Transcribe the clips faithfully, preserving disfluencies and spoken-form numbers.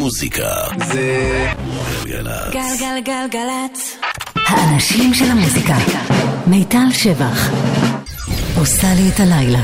המוזיקה זה גלגלצ. גלגלגלגלצ. האנשים של המוזיקה. מיטל שבח עושה לי את הלילה.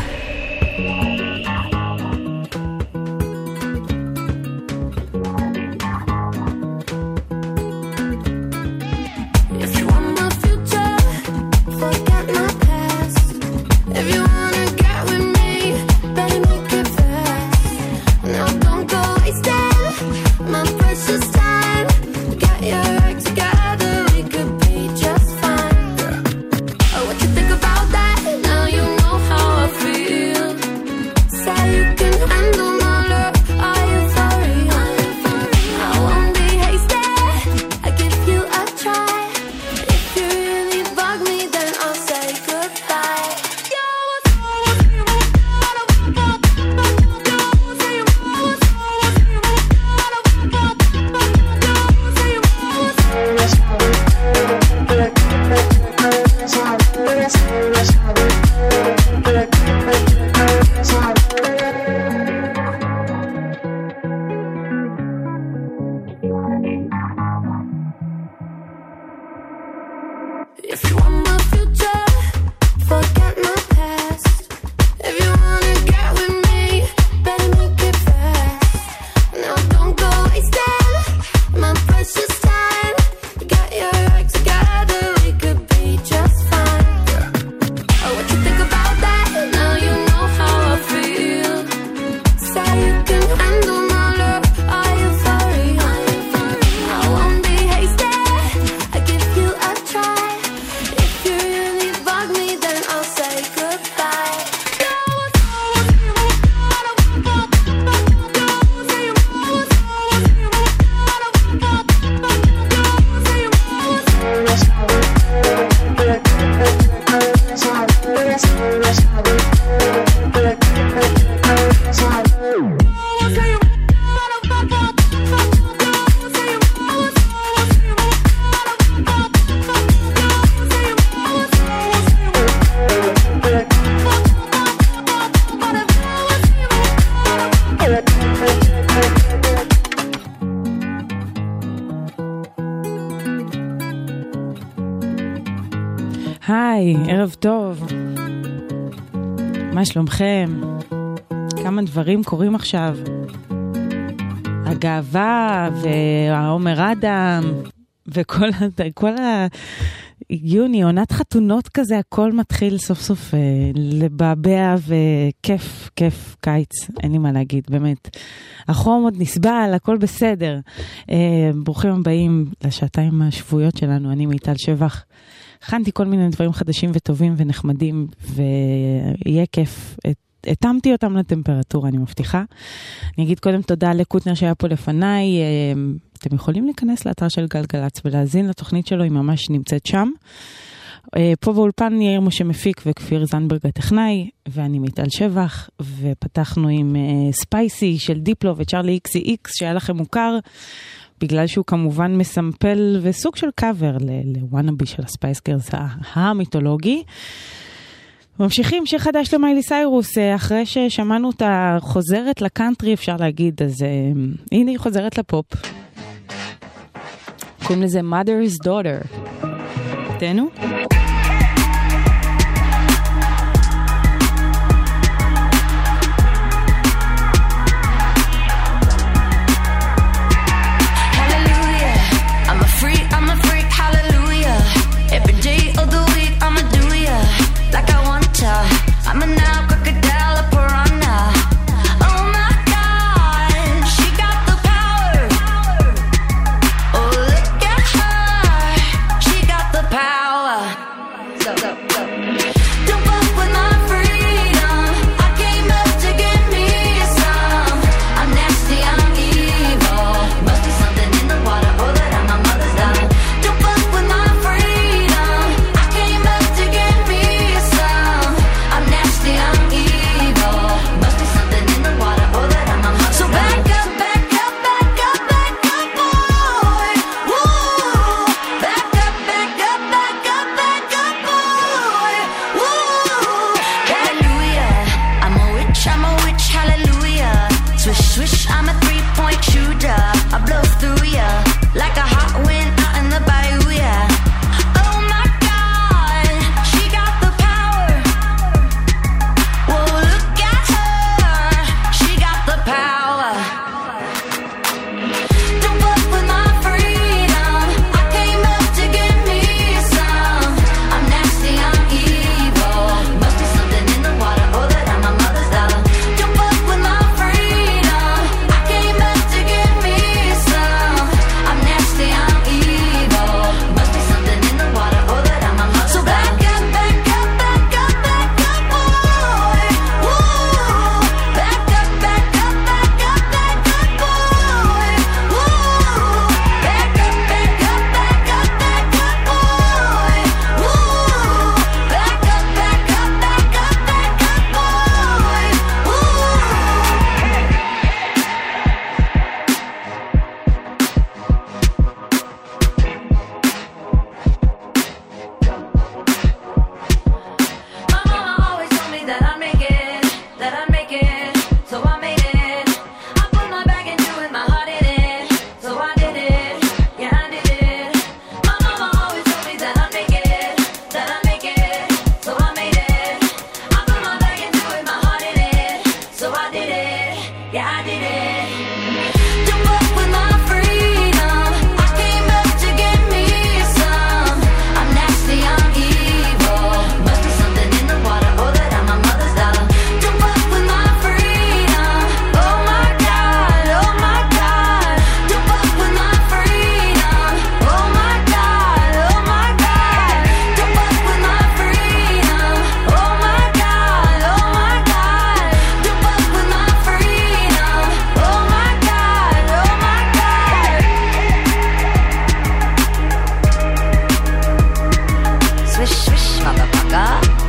היי, ערב טוב. מה שלומכם? כמה דברים קורים עכשיו. הגאווה והעומר אדם וכל כל ה... יוני, עונת חתונות כזה, הכל מתחיל סוף סוף אה, לבעבע וכיף, כיף, קיץ, אין לי מה להגיד, באמת. החום עוד נסבל, הכל בסדר. אה, ברוכים הבאים לשעתיים השבועיות שלנו, אני מיטל שבח. הכנתי כל מיני דברים חדשים וטובים ונחמדים, ויהיה כיף. התאמתי אותם לטמפרטורה, אני מבטיחה. אני אגיד קודם תודה לקוטנר שהיה פה לפניי. אתם יכולים להיכנס לאתר של גלגלצ ולהזין לתוכנית שלו, היא ממש נמצאת שם. פה באולפן יאיר משה מפיק וכפיר זנברג הטכנאי, ואני מיטל שבח, ופתחנו עם ספייסי של דיפלו וצ'רלי איקס איקס, שהיה לכם מוכר, בגלל שהוא כמובן מסמפל וסוג של קאבר לוואנאבי של הספייס גרס המיתולוגי. ממשיכים שחדש למיילי סיירוס, אחרי ששמענו אותה חוזרת לקאנטרי, אפשר להגיד, אז uh, הנה היא חוזרת לפופ. קוראים לזה Mother's Daughter. תנו? I'm a now crocodile, a piranha. Oh my God, she got the power. Oh, look at her, she got the power. So, so, so. Don't fuck with my freedom. I came up to get me some. I'm nasty, I'm evil. Must be something in the water, or that I'm my mother's daughter. Don't fuck with my freedom. I came up to get me some. I'm nasty, I'm evil. Must be something in the water, or that I'm a mother. So back up, back up, back up, back up, boy. Woo! Back up, back up, back up, back up, boy. Woo! Hallelujah, I'm a witch, I'm a witch, hallelujah. Swish, swish, I'm a three-point shooter. ya. I blow through ya like a hot wind out in the bayou, yeah. Oh my God, she got the power. Whoa, look at her, she got the power. Don't fuck with my freedom. I came up to get me some. I'm nasty, I'm evil. Must be something in the water, or that I'm my mother's dollar. Don't fuck with my freedom. I came up to get me some. I'm nasty, I'm evil. Must be something in the water, or that I'm my mother's dollar. So back up, back up, back up, back up, boy. Woo. Back up, back up, back up, back up, boy. Woo. Back up, back up, back up, back up, boy. Woo. Back up, back up, back up, back up, boy. Woo. My mama always told me that I'd make it, that I'd make it, so I made it. I put my back into it, my heart in it, so I did it, yeah I did it. My mama always told me that I'd make it, that I'd make it, so I made it. I put my back into it, my heart in it, so I did it, yeah I did it. Don't fuck with my freedom. I came up to get me some. I'm nasty, I'm evil. Must be something in the water, or that I'm my mother's dollar. Don't fuck with my freedom. Oh my God, oh my God. Don't fuck with my freedom. Oh my God, oh my God. Don't fuck with my freedom. Oh my God, oh my God. Don't fuck with my freedom. Oh my God, oh my God. Swish, swish, motherfucker.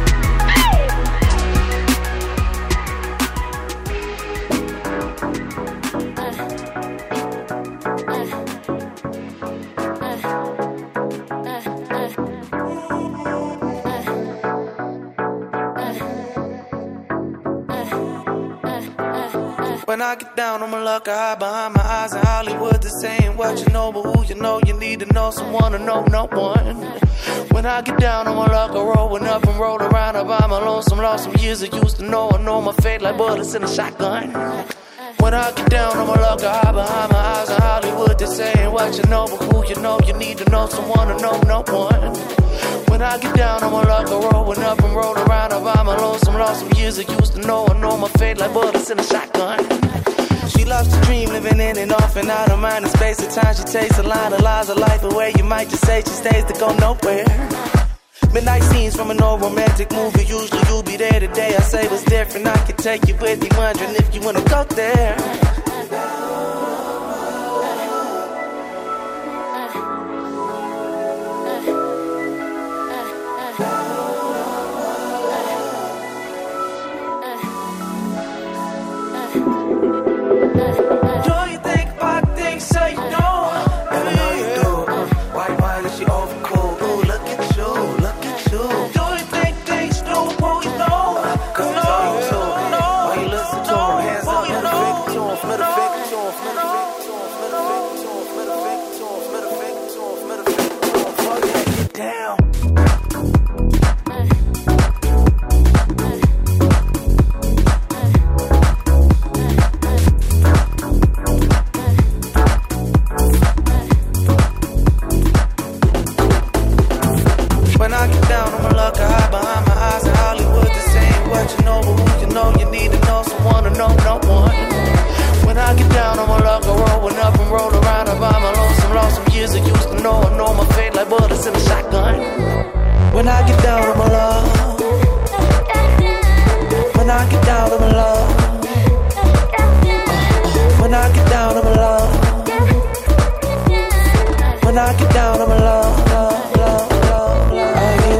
When I get down on my luck, I hide behind my eyes in Hollywood. This ain't what you know, but who you know, you need to know someone to know no one. When I get down on my luck, I rollin' up and roll around. I buy my lonesome, lost some years I used to know. I know my fate like bullets in a shotgun. When I get down on my luck, I hide behind my eyes in Hollywood. This ain't what you know, but who you know, you need to know someone to know no one. When I get down on my luck, I rollin' up and roll around. I buy my lonesome, lost some years I used to know. I know my fate like bullets in a shotgun. She loves to dream, living in and off and out of mind and space. At times she takes a line of lies of life away. You might just say she stays to go nowhere. Midnight scenes from an old romantic movie. Usually you'll be there today. I say what's different, I can take you with me, wondering if you wanna go there. Do you think about things so you know? Never know you do. Why, why is she over cool? Ooh, look at you, look at you. Do you think things do who you know? Cause no, you too. No, why you listen to him? Hands up, let the finger to him, let the finger to him, let the finger to him, let the finger to him, let the finger to him, let the finger to him, let the finger to him. Fuck that, get down. When I get down on my luck, I hide behind my eyes in Hollywood. This ain't what you know, but who you know, you need to know someone to know no one. When I get down on my luck, I rollin' up and roll around. I buy my lonesome, lost some years I used to know. I know my fate like bullets in a shotgun. When I get down on my luck, when I get down on my luck, when I get down on my luck, when I get down on my luck, love, love, love, love, are you?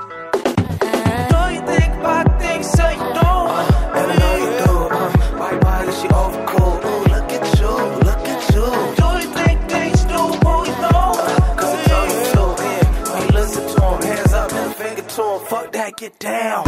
Do you think about things so you know? Never know you do. Why, why Get down.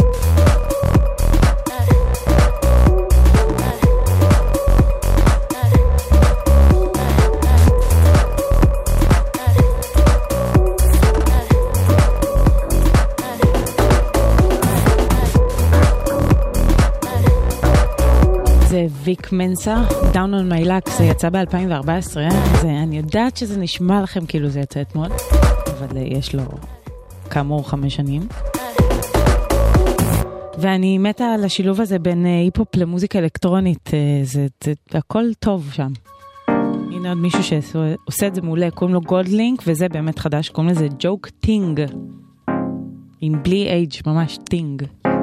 זה ויק מנסה, Down on my luck, זה יצא ב-אלפיים וארבע עשרה, זה, אני יודעת שזה נשמע לכם כאילו זה יצא אתמול, אבל יש לו כאמור חמש שנים. ואני מתה על השילוב הזה בין היפ-הופ למוזיקה אלקטרונית, זה, זה, זה הכל טוב שם. הנה עוד מישהו שעושה את זה מעולה, קוראים לו גולדלינק, וזה באמת חדש, קוראים לזה ג'וק טינג, עם בלי אייג', ממש טינג.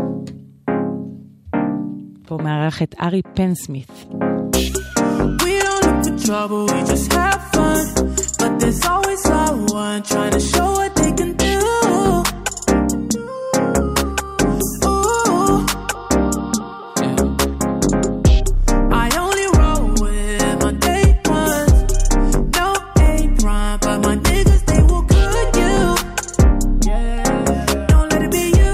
פה מארח את ארי פן סמית. We don't look for trouble, we just have fun. But there's always someone trying to show what they can do. Ooh. I only roll with my day ones. No A-prime, but my niggas, they will cook you. Don't let it be you.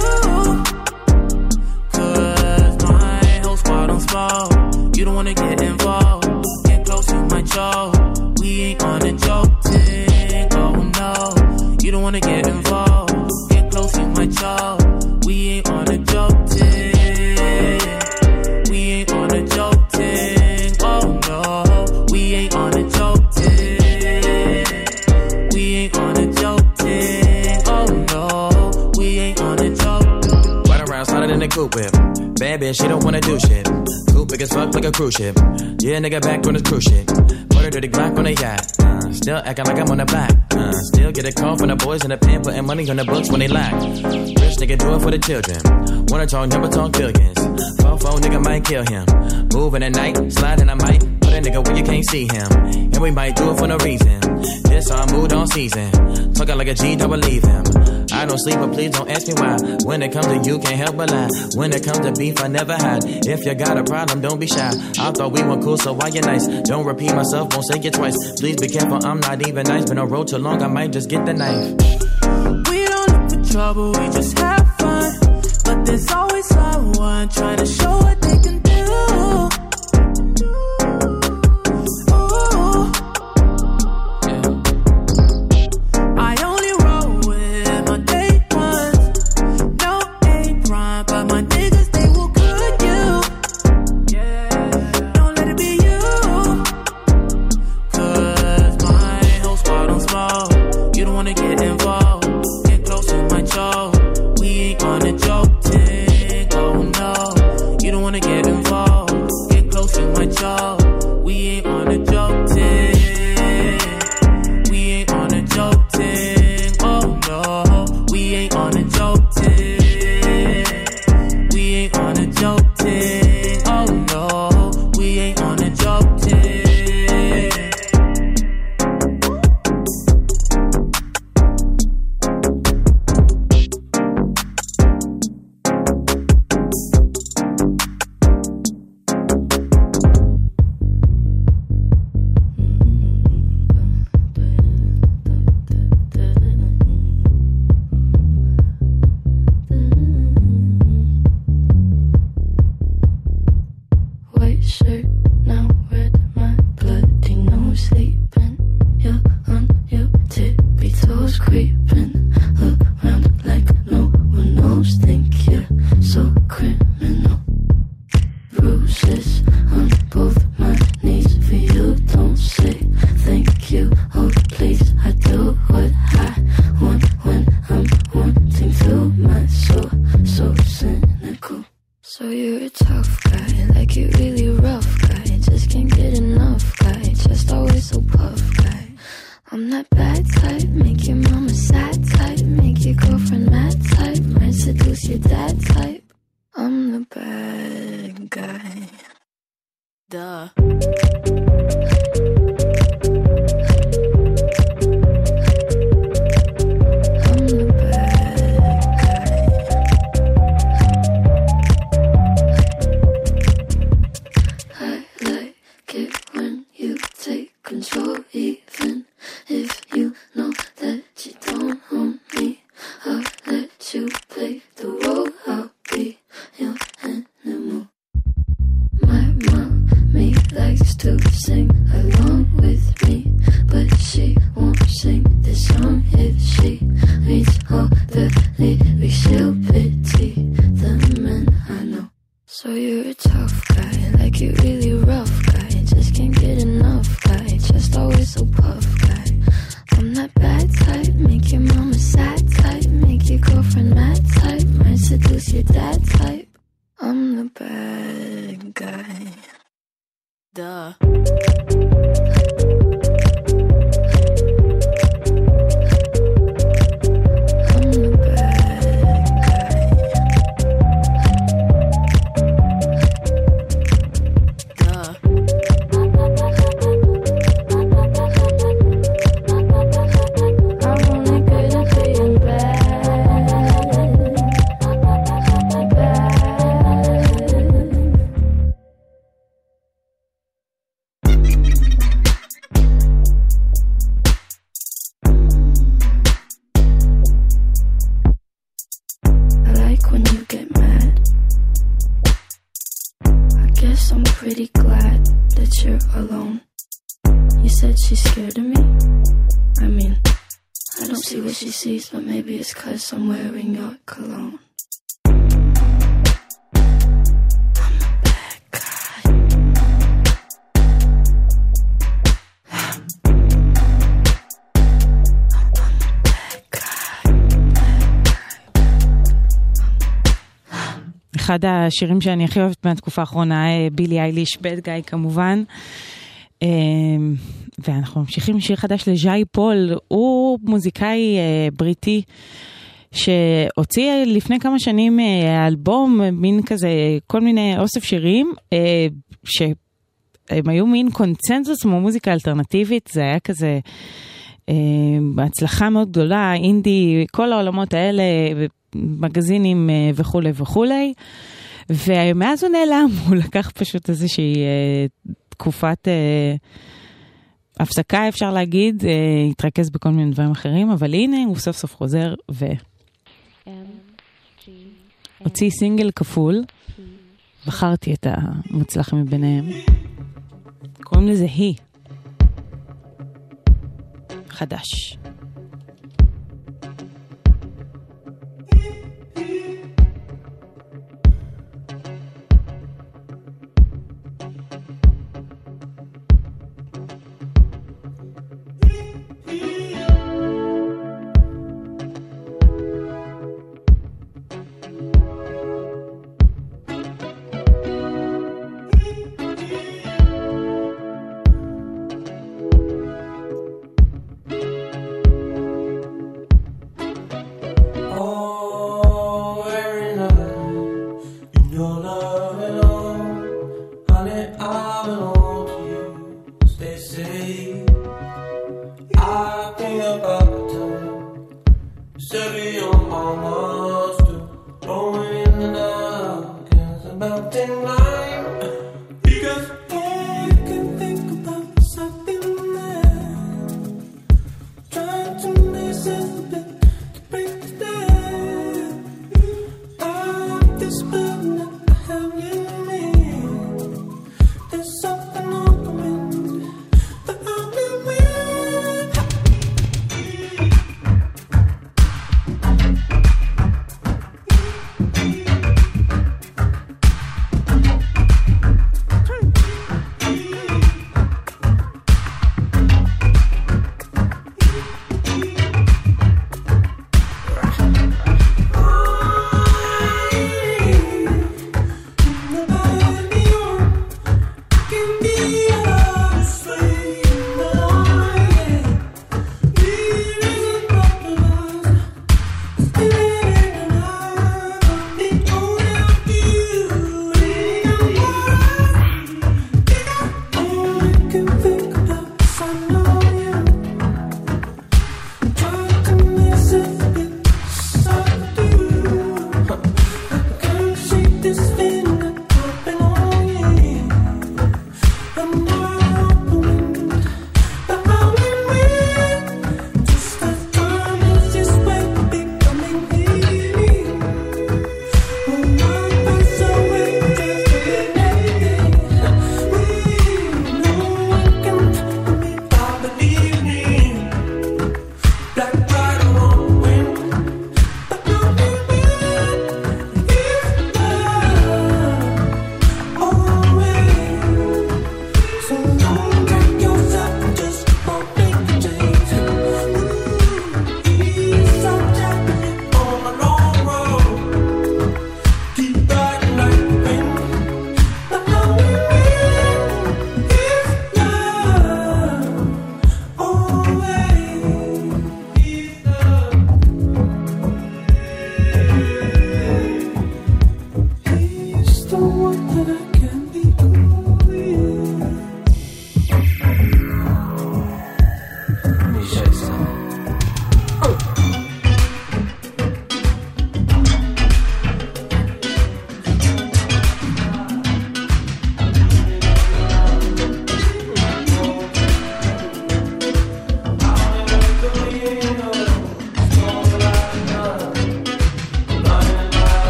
Cause my whole squad on small. You don't wanna get involved. Get close, you might choke. We ain't on a joke thing, oh no. You don't wanna get involved. Get close, you might choke. We ain't on a joke thing. We ain't on a joke thing, oh no. We ain't on a joke thing. We ain't on a joke thing, oh no. We ain't on a joke. Right around, sliding in the coupe whip. Bad bitch, she don't wanna do shit. Coupe big as fuck like a cruise ship. Yeah, nigga back on this cruise shit. Put her to the Glock on the yacht. Uh, still acting like I'm on the block. Uh, still get a call from the boys in the pen, putting money on the books when they lack. Rich nigga do it for the children. Wanna talk number, talk billions. Phone phone nigga might kill him. Moving at night, sliding I might. Put a nigga where you can't see him. And we might do it for no reason. This our mood on season. Talking like a G, don't believe him. I don't sleep, but please don't ask me why. When it comes to you, can't help but lie. When it comes to beef, I never hide. If you got a problem, don't be shy. I thought we were cool, so why you nice? Don't repeat myself, won't say it twice. Please be careful, I'm not even nice. Been on road too long, I might just get the knife. We don't look for trouble, we just have fun. But there's always someone trying to show what they can do. Ooh. I only roll with my day ones. No A-prime, but my niggas, they will cook you. Don't let it be you. Cause my whole squad on small. You don't wanna get involved. Get close, you might choke. We ain't on a joke thing, oh no. You don't wanna get involved. Get close, you might choke. We ain't on a joke thing. We ain't on a joke thing, oh no. We ain't on a joke thing. We ain't on a joke thing, oh no. We ain't on a joke thing. White shirt, now red, my bloody nose sleeping. You're on your tippy toes creeping around like no one knows. Think you're so criminal. Bruises on both my knees for you. Don't say thank you, oh please. I do what I want when I'm wanting to. My soul so cynical. So you're a tough guy, like you really rough guy. Just can't get enough guy, just always so puff guy. I'm that bad type, make your mama sad type. Make your girlfriend mad type, might seduce your dad type. I'm the bad guy. Duh. I'm the bad guy. I like it when you take control, even if you know that you don't own me. I'll let you play the role said she's scared of me. I mean, I don't see what she sees, but maybe it's 'cause I'm wearing your cologne. אחד השירים שאני הכי אוהבת מהתקופה האחרונה, בילי אייליש, בד גאי כמובן. ואנחנו ממשיכים עם שיר חדש לז'אי פול, הוא מוזיקאי בריטי, שהוציא לפני כמה שנים אלבום, מין כזה, כל מיני אוסף שירים, שהם היו מין קונצנזוס כמו מוזיקה אלטרנטיבית, זה היה כזה בהצלחה מאוד גדולה, אינדי, כל העולמות האלה, מגזינים וכו' וכו'. ומאז הוא נעלם, הוא לקח פשוט איזושהי תקופת הפסקה, אפשר להגיד, התרכז בכל מיני דברים אחרים, אבל הנה הוא סוף סוף חוזר והוציא סינגל כפול, בחרתי את המוצלח מביניהם, קוראים לזה היא, חדש.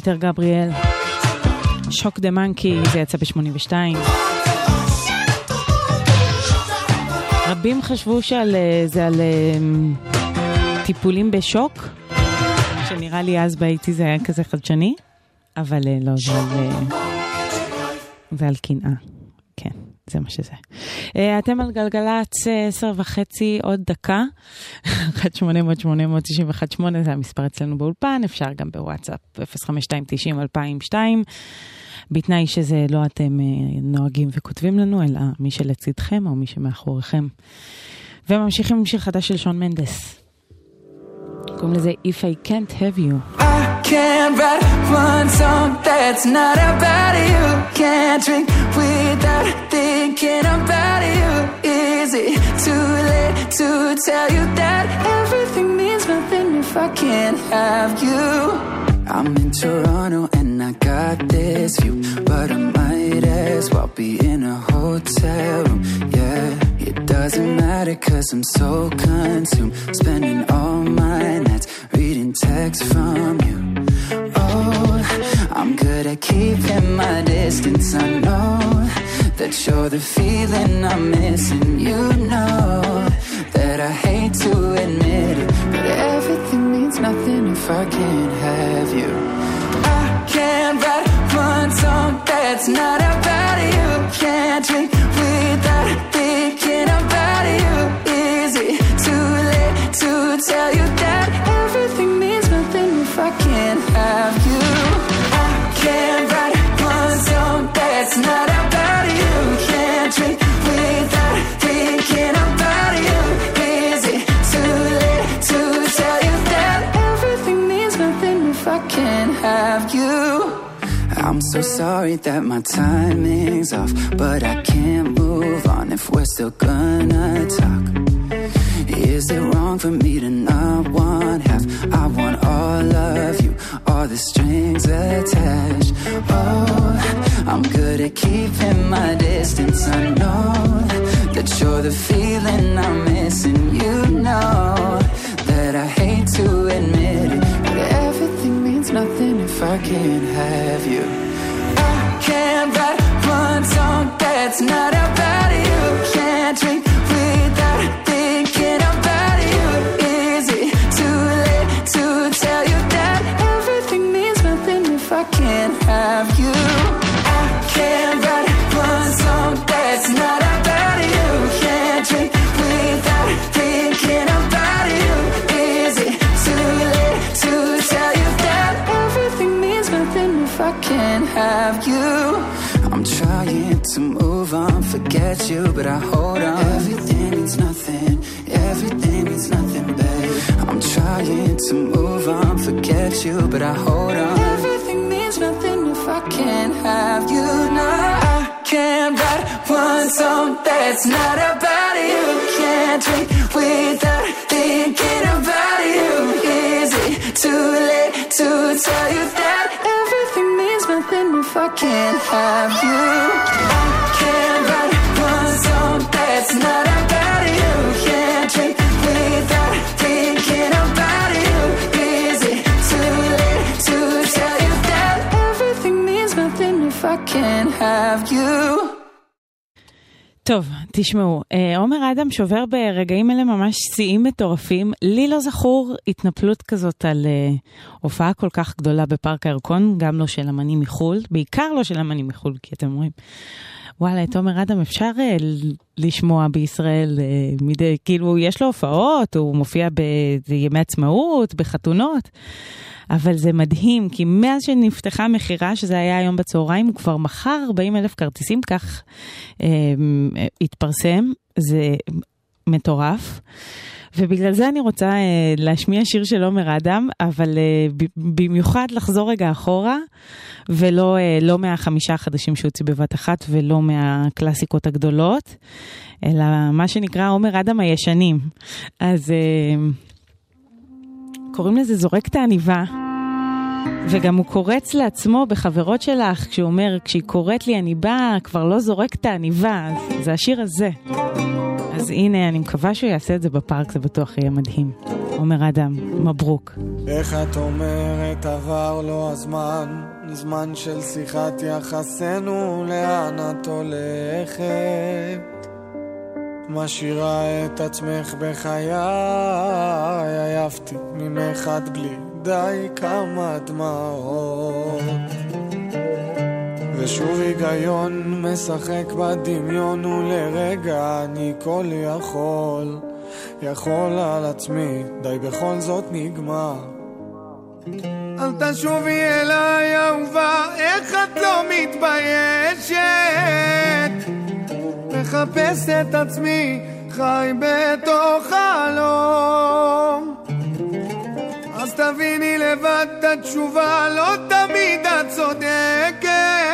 פיטר גבריאל. שוק דה מנקי, זה יצא ב-שמונים ושתיים. רבים חשבו שזה על טיפולים בשוק, שנראה לי אז באיתי זה היה כזה חדשני, אבל לא, זה על, זה על קנאה. כן, זה מה שזה. אתם על גלגלץ עשר וחצי, עוד דקה. אחת שמונה אפס אפס שמונה תשע אחת שמונה, זה המספר אצלנו באולפן, אפשר גם בוואטסאפ אפס חמש שתיים תשעים אלפיים ושתיים. בתנאי שזה לא אתם נוהגים וכותבים לנו, אלא מי שלצידכם או מי שמאחוריכם. וממשיכים עם שיר חדש של שון מנדס. קוראים לזה If I Can't Have You. I can't write one song that's not about you. Can't drink without thinking about you. Is it too late to tell you that everything means nothing if I can't have you? I'm in Toronto and I got this view, but I might as well be in a hotel room. Yeah, it doesn't matter cause I'm so consumed, spending all my nights reading texts from you. Oh, I'm good at keeping my distance. I know that you're the feeling I'm missing. You know that I hate to admit it, but everything means nothing if I can't have you. I can't write one song that's not about you. Can't drink without thinking about you. Is it too late to tell you that everything means nothing if I can't have you? I can't write one song that's not about you. Can't drink without thinking about you. Is it too late to tell you that everything means nothing if I can't have you? I'm so sorry that my timing's off, but I can't move on if we're still gonna talk. Is it wrong for me to not want half? I want all of you, all the strings attached. Oh, I'm good at keeping my distance. I know that you're the feeling I'm missing. You know that I hate to admit it, but everything means nothing if I can't have you. I can't write one song that's not about you. Can't drink without thinking about you. Is it too late to tell you that everything means nothing if I can't have you? I can't write one song that's not about you. Can't drink without thinking about you. Is it too late to tell you that everything means nothing if I can't have you? I'm trying to move on, forget you, but I hold on. Everything means nothing, everything means nothing, babe. I'm trying to move on, forget you, but I hold on. Everything means nothing if I can't have you. No, I can't write one song that's not about you. Can't drink without thinking about you. Is it too late to tell you that everything means nothing if I can't have you? I can't write one song that's not about you. Can't drink without thinking about you. Is it too late to tell you that everything means nothing if I can't have you? טוב, תשמעו, עומר אדם שובר ברגעים אלה ממש שיאים מטורפים. לי לא זכור התנפלות כזאת על הופעה כל כך גדולה בפארק הירקון, גם לא של אמנים מחול, בעיקר לא של אמנים מחול, כי אתם אומרים, וואלה, את עומר אדם אפשר לשמוע בישראל, מדי, כאילו יש לו הופעות, הוא מופיע בימי עצמאות, בחתונות, אבל זה מדהים, כי מאז שנפתחה מחירה, שזה היה היום בצהריים, הוא כבר מחר ארבעים אלף כרטיסים, כך אה, התפרסם, זה מטורף. ובגלל זה אני רוצה אה, להשמיע שיר של עומר אדם, אבל אה, ב- במיוחד לחזור רגע אחורה, ולא אה, לא מהחמישה החדשים שהוציא בבת אחת, ולא מהקלאסיקות הגדולות, אלא מה שנקרא עומר אדם הישנים. אז אה, קוראים לזה זורק את העניבה, וגם הוא קורץ לעצמו בחברות שלך, כשהוא אומר, כשהיא קוראת לי אני באה, כבר לא זורק את העניבה, אז זה השיר הזה. אז אז הנה, אני מקווה שהוא יעשה את זה בפארק, זה בטוח יהיה מדהים. עומר אדם, מברוק. איך את אומרת עבר לו הזמן, זמן של שיחת יחסנו, לאן את הולכת? משאירה את עצמך בחיי, עייפתי ממך עד בלי די כמה דמעות, ושוב היגיון משחק בדמיון, ולרגע אני כל יכול יכול על עצמי, די בכל זאת נגמר. אל תשובי אליי אהובה, איך את לא מתביישת? מחפש את עצמי, חי בתוך חלום. אז תביני לבד את התשובה, לא תמיד את צודקת.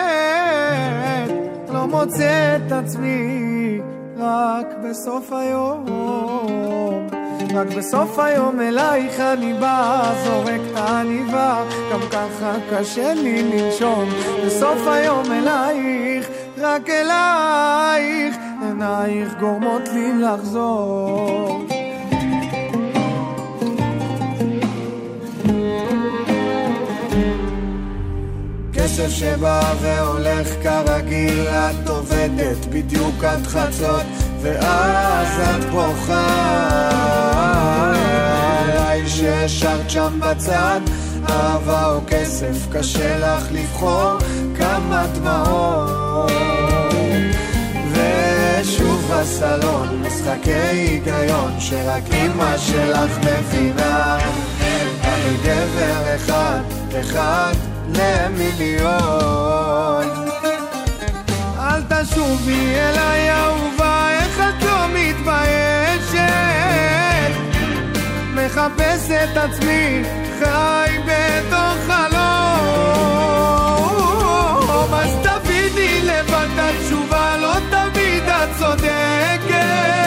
לא מוצא את עצמי רק בסוף היום, רק בסוף היום אלייך אני בא, זורק את העניבה, גם ככה קשה לי לנשום. בסוף היום אלייך, רק אלייך, עינייך גורמות לי לחזור. כסף שבא והולך כרגיל, את עובדת בדיוק עד חצות, ואז את בוכה עליי ששרת שם בצד. אהבה או כסף, קשה לך לבחור, כמה דמעות. ושוב בסלון משחקי היגיון, שרק אמא שלך מבינה. אני גבר אחד, אחד למיליון. אל תשובי אליי אהובה, איך את לא מתביישת? מחפש את עצמי, חי בתוך חלום. אז תביני לבד התשובה, לא תמיד את צודקת.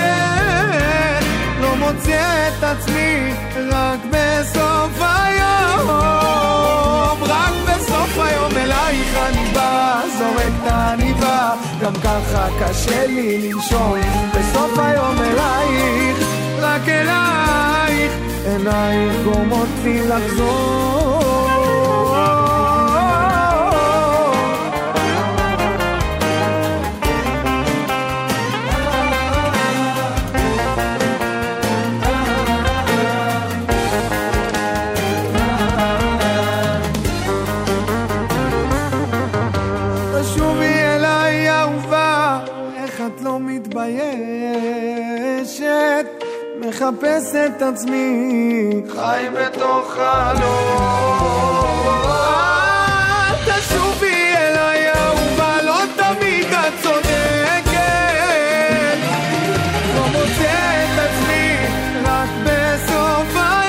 לא מוצא את עצמי רק בסוף היום, רק בסוף היום אלייך אני בא, זורק את העניבה, גם ככה קשה לי לנשום. בסוף היום אלייך, רק אלייך, עינייך גורמות לי לחזור. מחפש את עצמי, חי בתוך חלום. אל תשובי אליי אהובה, לא תמיד את צודקת. לא מוצא את עצמי רק בסוף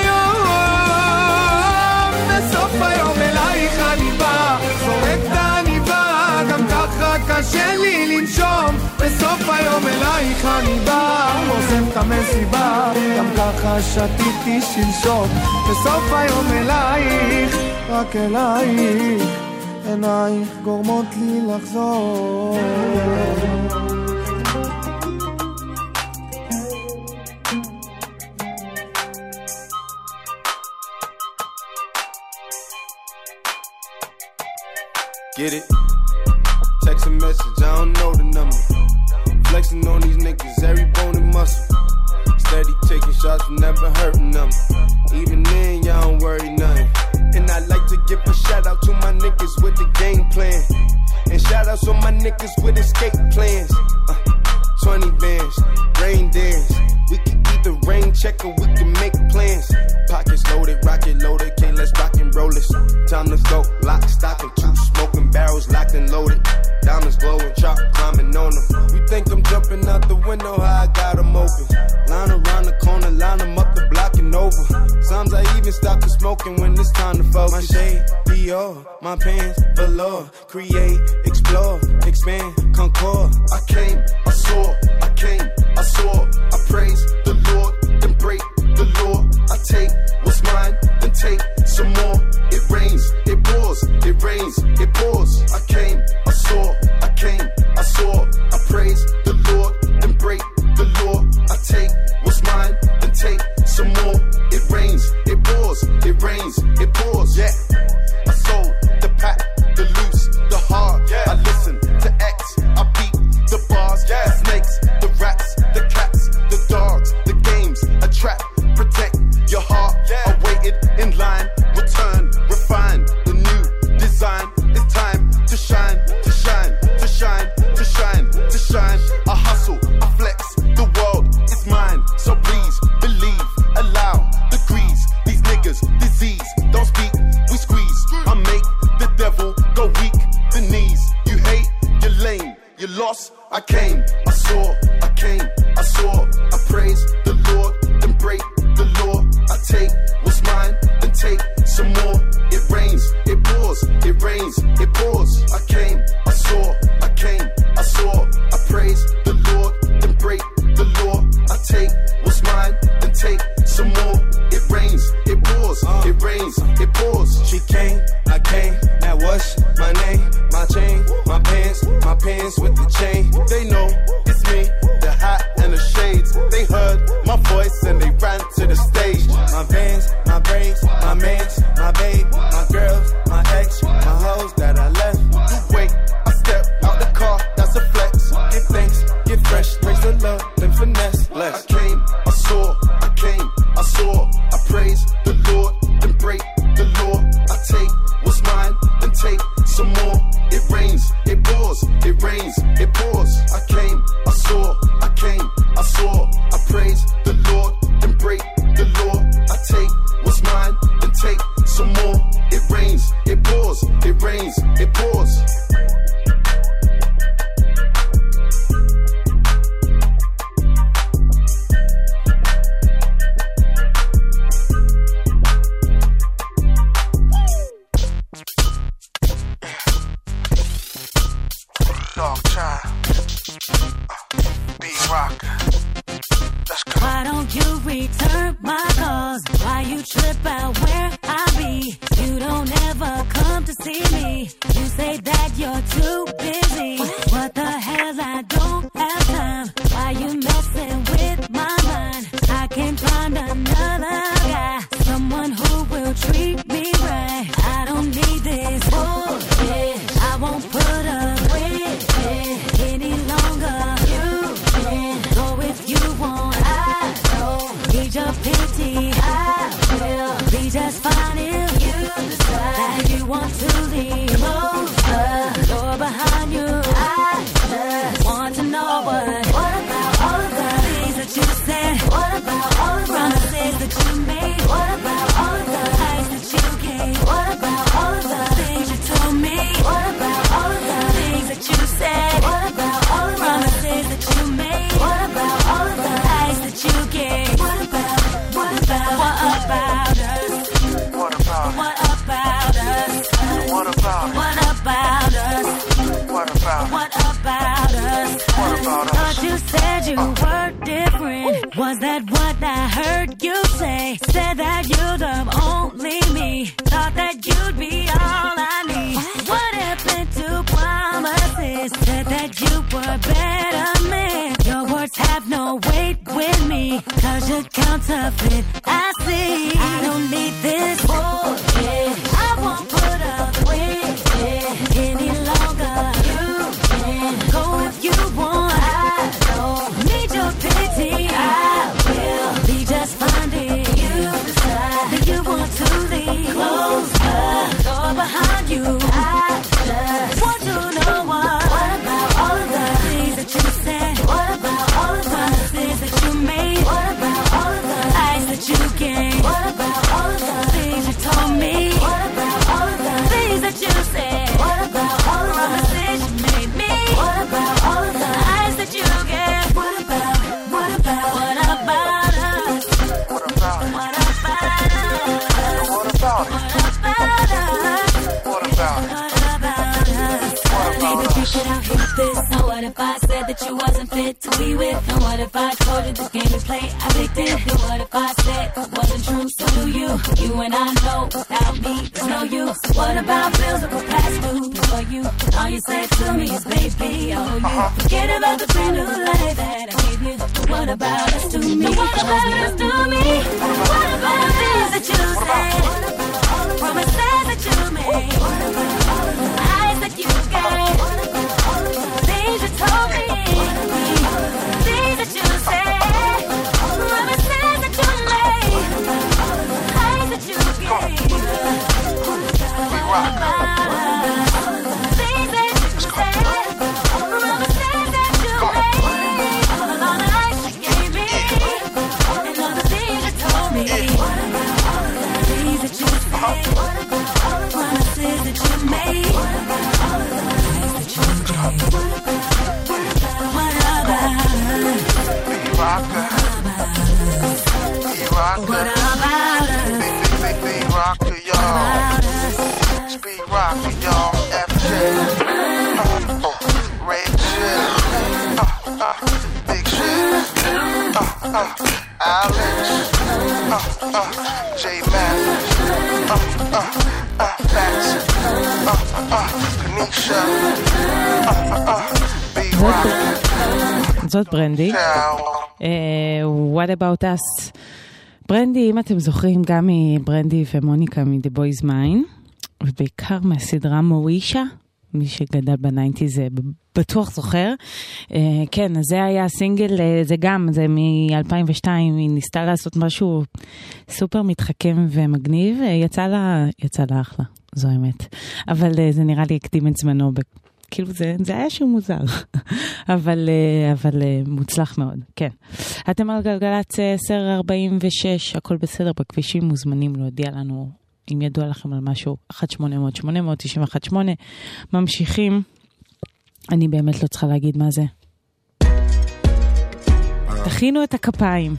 היום. בסוף היום אלייך אני בא, זורק את העניבה, גם ככה קשה לי לנשום. בסוף היום אלייך אני בא, עוזב את המסיבה, גם ככה שתיתי שלשום. בסוף היום אלייך, רק אלייך, עינייך גורמות לי לחזור. Get it? Text a message, I don't know the number. Flexing on these niggas, every bone and muscle. Steady taking shots, never hurting them. Even then, y'all don't worry nothing. And I like to give a shout out to my niggas with the game plan. And shout outs on my niggas with escape plans. Uh, twenty bands, rain dance. We can either rain check or we can make plans. Pockets loaded, rocket loaded, okay, let's rock and roll this. Time to go, lock, stock, and two smoking barrels locked and loaded. Diamonds glowing, chop climbing on them. You think I'm jumping out the window, how I got them open. Line around the corner, line them up the block and over. Sometimes I even stop the smoking when it's time to focus. My shade, Dior, my pants, velour. Create, explore, expand, concord. I came, I saw, I came, I saw. I praise the Lord, then break the law. I take what's mine, then take some more. It rains, it pours, it rains, it pours. I came, I saw, I came, I saw. I praise the Lord, then break the law. I lost. I came, I saw, I came, I saw. I praise the Lord, then break the law. I take what's mine, then take some more. It rains, it pours, it rains, it pours. I came, I saw, I came, I saw. I praise the Lord, then break the law. I take what's mine, then take some more. It rains, it pours, it rains, it pours. She came, I came, now what's my name? My chain, my pants, my pants with the chain. They know it's me, the hat and the shades. They heard my voice and they ran to the stage. My vans, my braids, my mans, my babe, my girls, my ex, my hoes that I left. You wait, I step out the car, that's a flex. Give thanks, get fresh, praise the Lord, then finesse. Less. I came, I saw, I came, I saw. I praise the Lord, then break the law. I take what's mine, then take some more. It rains, it pours, it rains, it pours. I came, I saw, I came, I saw. I praise the Lord, then break the law. I take what's mine, then take some more. It rains, it pours, it rains, it pours. Dog child, uh, B-Rock. Let's go. Why don't you return my calls? Why you trip out where I be? You don't ever come to see me. You say that you're too busy. What the hell, I don't have time. Why you messing with my mind? I can find another guy, someone who will treat me right. I don't need this bullshit. I won't put up with it any longer. You can go if you want. I don't need your pity. I will be just fine if you decide that you want to leave. Close the door behind you. I just want to know what. What about all of the things that you said? What about all of the promises that you made? What about all of the lies that you gave? What about all of the things you told me? What about all of the things that you said? What about all of the promises that you made? What about all of the lies that you gave? What about, what about, what about us? What about, what about us? what about, what about us? what about, What about us? What about us? Thought you said you were different. Was that what I heard you say? Said that you'd love only me. Thought that you'd be all I need. What happened to promises? Said that you were better man. Your words have no weight with me, cause you're counterfeit. I see. I don't need this bullshit. I won't put up with it any longer. You can go if you want. I don't need your pity. I will be just fine if you decide that you want to leave. Close the door behind you. I just want to know what. What about all of the things that you said? What about all of the promises that you made? What about all of the lies that you gave? What about all of the things you told me? What about all of the things that you said? What about all of the promises you made me? What about all of the lies that you gave? What about, what about, what about us? what about, What about us? what about, What about us? what about, What about us? Maybe you should have hit this. And what if I said that you wasn't fit to be with? And what if I told you this game you play, I picked it? And what if I said it wasn't true? So do you? You and I know without me there's no use. What about bills that were past due for you? All you said to me is baby, oh you forget about the brand new life that I gave you. What about us to me? What about us to me? What about things that you said? Promises that you made? Lies that you gave? Things you told me? Things that you said? Promises that you made? Lies that you gave? What about us? Things that you said? Promises that you made? All the lies you gave me? And all the things you told me? What about all of the things that you uh, Alex, uh, uh, J-Man, uh, uh, uh, Max, uh, uh, Kanisha, uh, uh, B-Rock. זאת ברנדי. What about us? ברנדי, אם אתם זוכרים, גם מברנדי ומוניקה מ-The Boys Mine, ובעיקר מהסדרה מוישה, מי שגדל בניינטי זה בטוח זוכר. כן, אז זה היה סינגל, זה גם, זה מ-אלפיים ושתיים, היא ניסתה לעשות משהו סופר מתחכם ומגניב, יצא לה, יצא לה אחלה, זו האמת. אבל זה נראה לי הקדים את זמנו, כאילו זה, זה היה שהוא מוזר, אבל, אבל מוצלח מאוד, כן. אתם על גלגלצ עשר ארבעים ושש, הכל בסדר בכבישים, מוזמנים להודיע לנו אם ידוע לכם על משהו, אחת שמונה אפס אפס שמונה אפס אפס תשע אחת שמונה, ממשיכים, אני באמת לא צריכה להגיד מה זה. תכינו את הכפיים.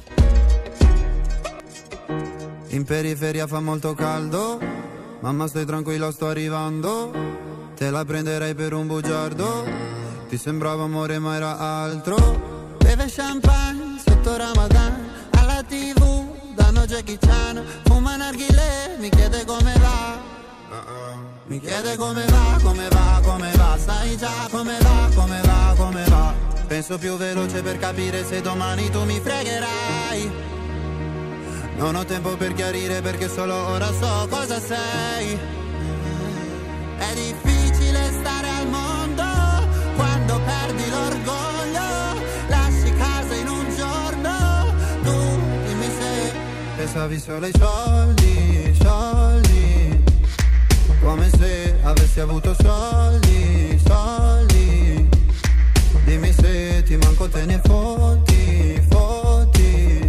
In periferia fa molto caldo, mamma stai tranquilla sto arrivando, te la prenderei per un bugiardo, ti sembrava amore ma era altro, beve champagne sotto Ramadan, alla tv danno Jackie Chan, fuma narghilè, mi chiede come va, mi chiede come va, come va, come va, sai già come va, come va, come va, penso più veloce per capire se domani tu mi fregherai, non ho tempo per chiarire perché solo ora so cosa sei, è difficile stare al mondo quando perdi l'orgoglio, lasci casa in un giorno, tu dimmi se pensavi solo ai soldi, soldi, come se avessi avuto soldi, soldi, dimmi se ti manco te ne fotti, fotti,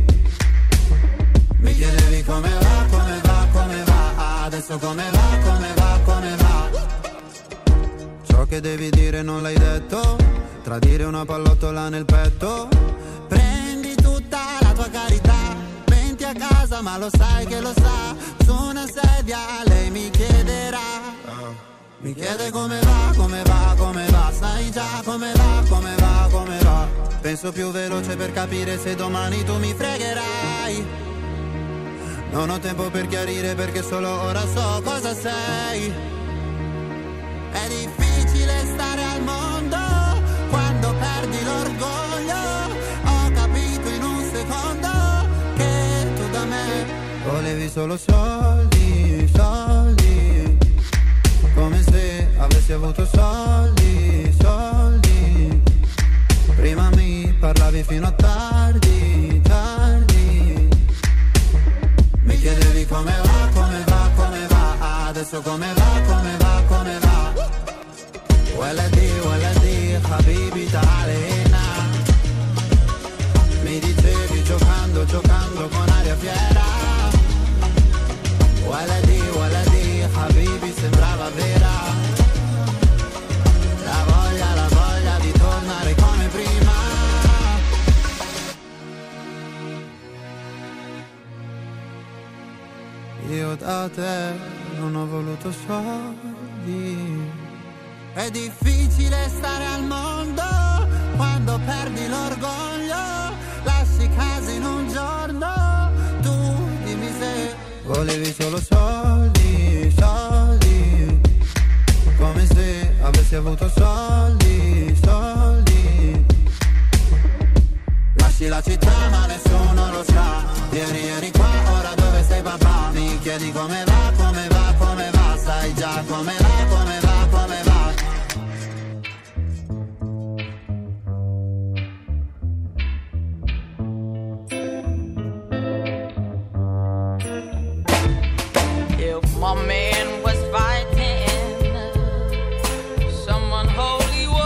mi chiedevi come va, come va, come va, adesso come va, come va, come va, ciò che devi dire non l'hai detto, tradire una pallottola nel petto, prendi tutta la tua carità, venti a casa ma lo sai che lo sa, su una sedia lei mi chiederà, mi chiede come va, come va, come va, sai già come va, come va, come va, penso più veloce per capire se domani tu mi fregherai, non ho tempo per chiarire perché solo ora so cosa sei, è difficile stare al mondo quando perdi l'orgoglio, ho capito in un secondo che tu da me volevi solo soldi, soldi, come se avessi avuto soldi, soldi, prima mi parlavi fino a tardi, tardi, mi chiedevi come va, come va, come va, adesso come va, come va, come va, ولدي ولدي حبيبي تعالي هنا, mi dicevi giocando, giocando con aria fiera, ولدي ولدي حبيبي sembrava vera, la voglia, la voglia di tornare come prima, io da te non ho voluto soldi, è difficile stare al mondo quando perdi l'orgoglio, lasci casa in un giorno, tu dimmi se volevi solo soldi, soldi, come se avessi avuto soldi, soldi, lasci la città ma nessuno lo sa, ieri eri qua, ora dove sei papà, mi chiedi come va, come va, come va, sai già come va, come va, come va. My man was fighting someone holy was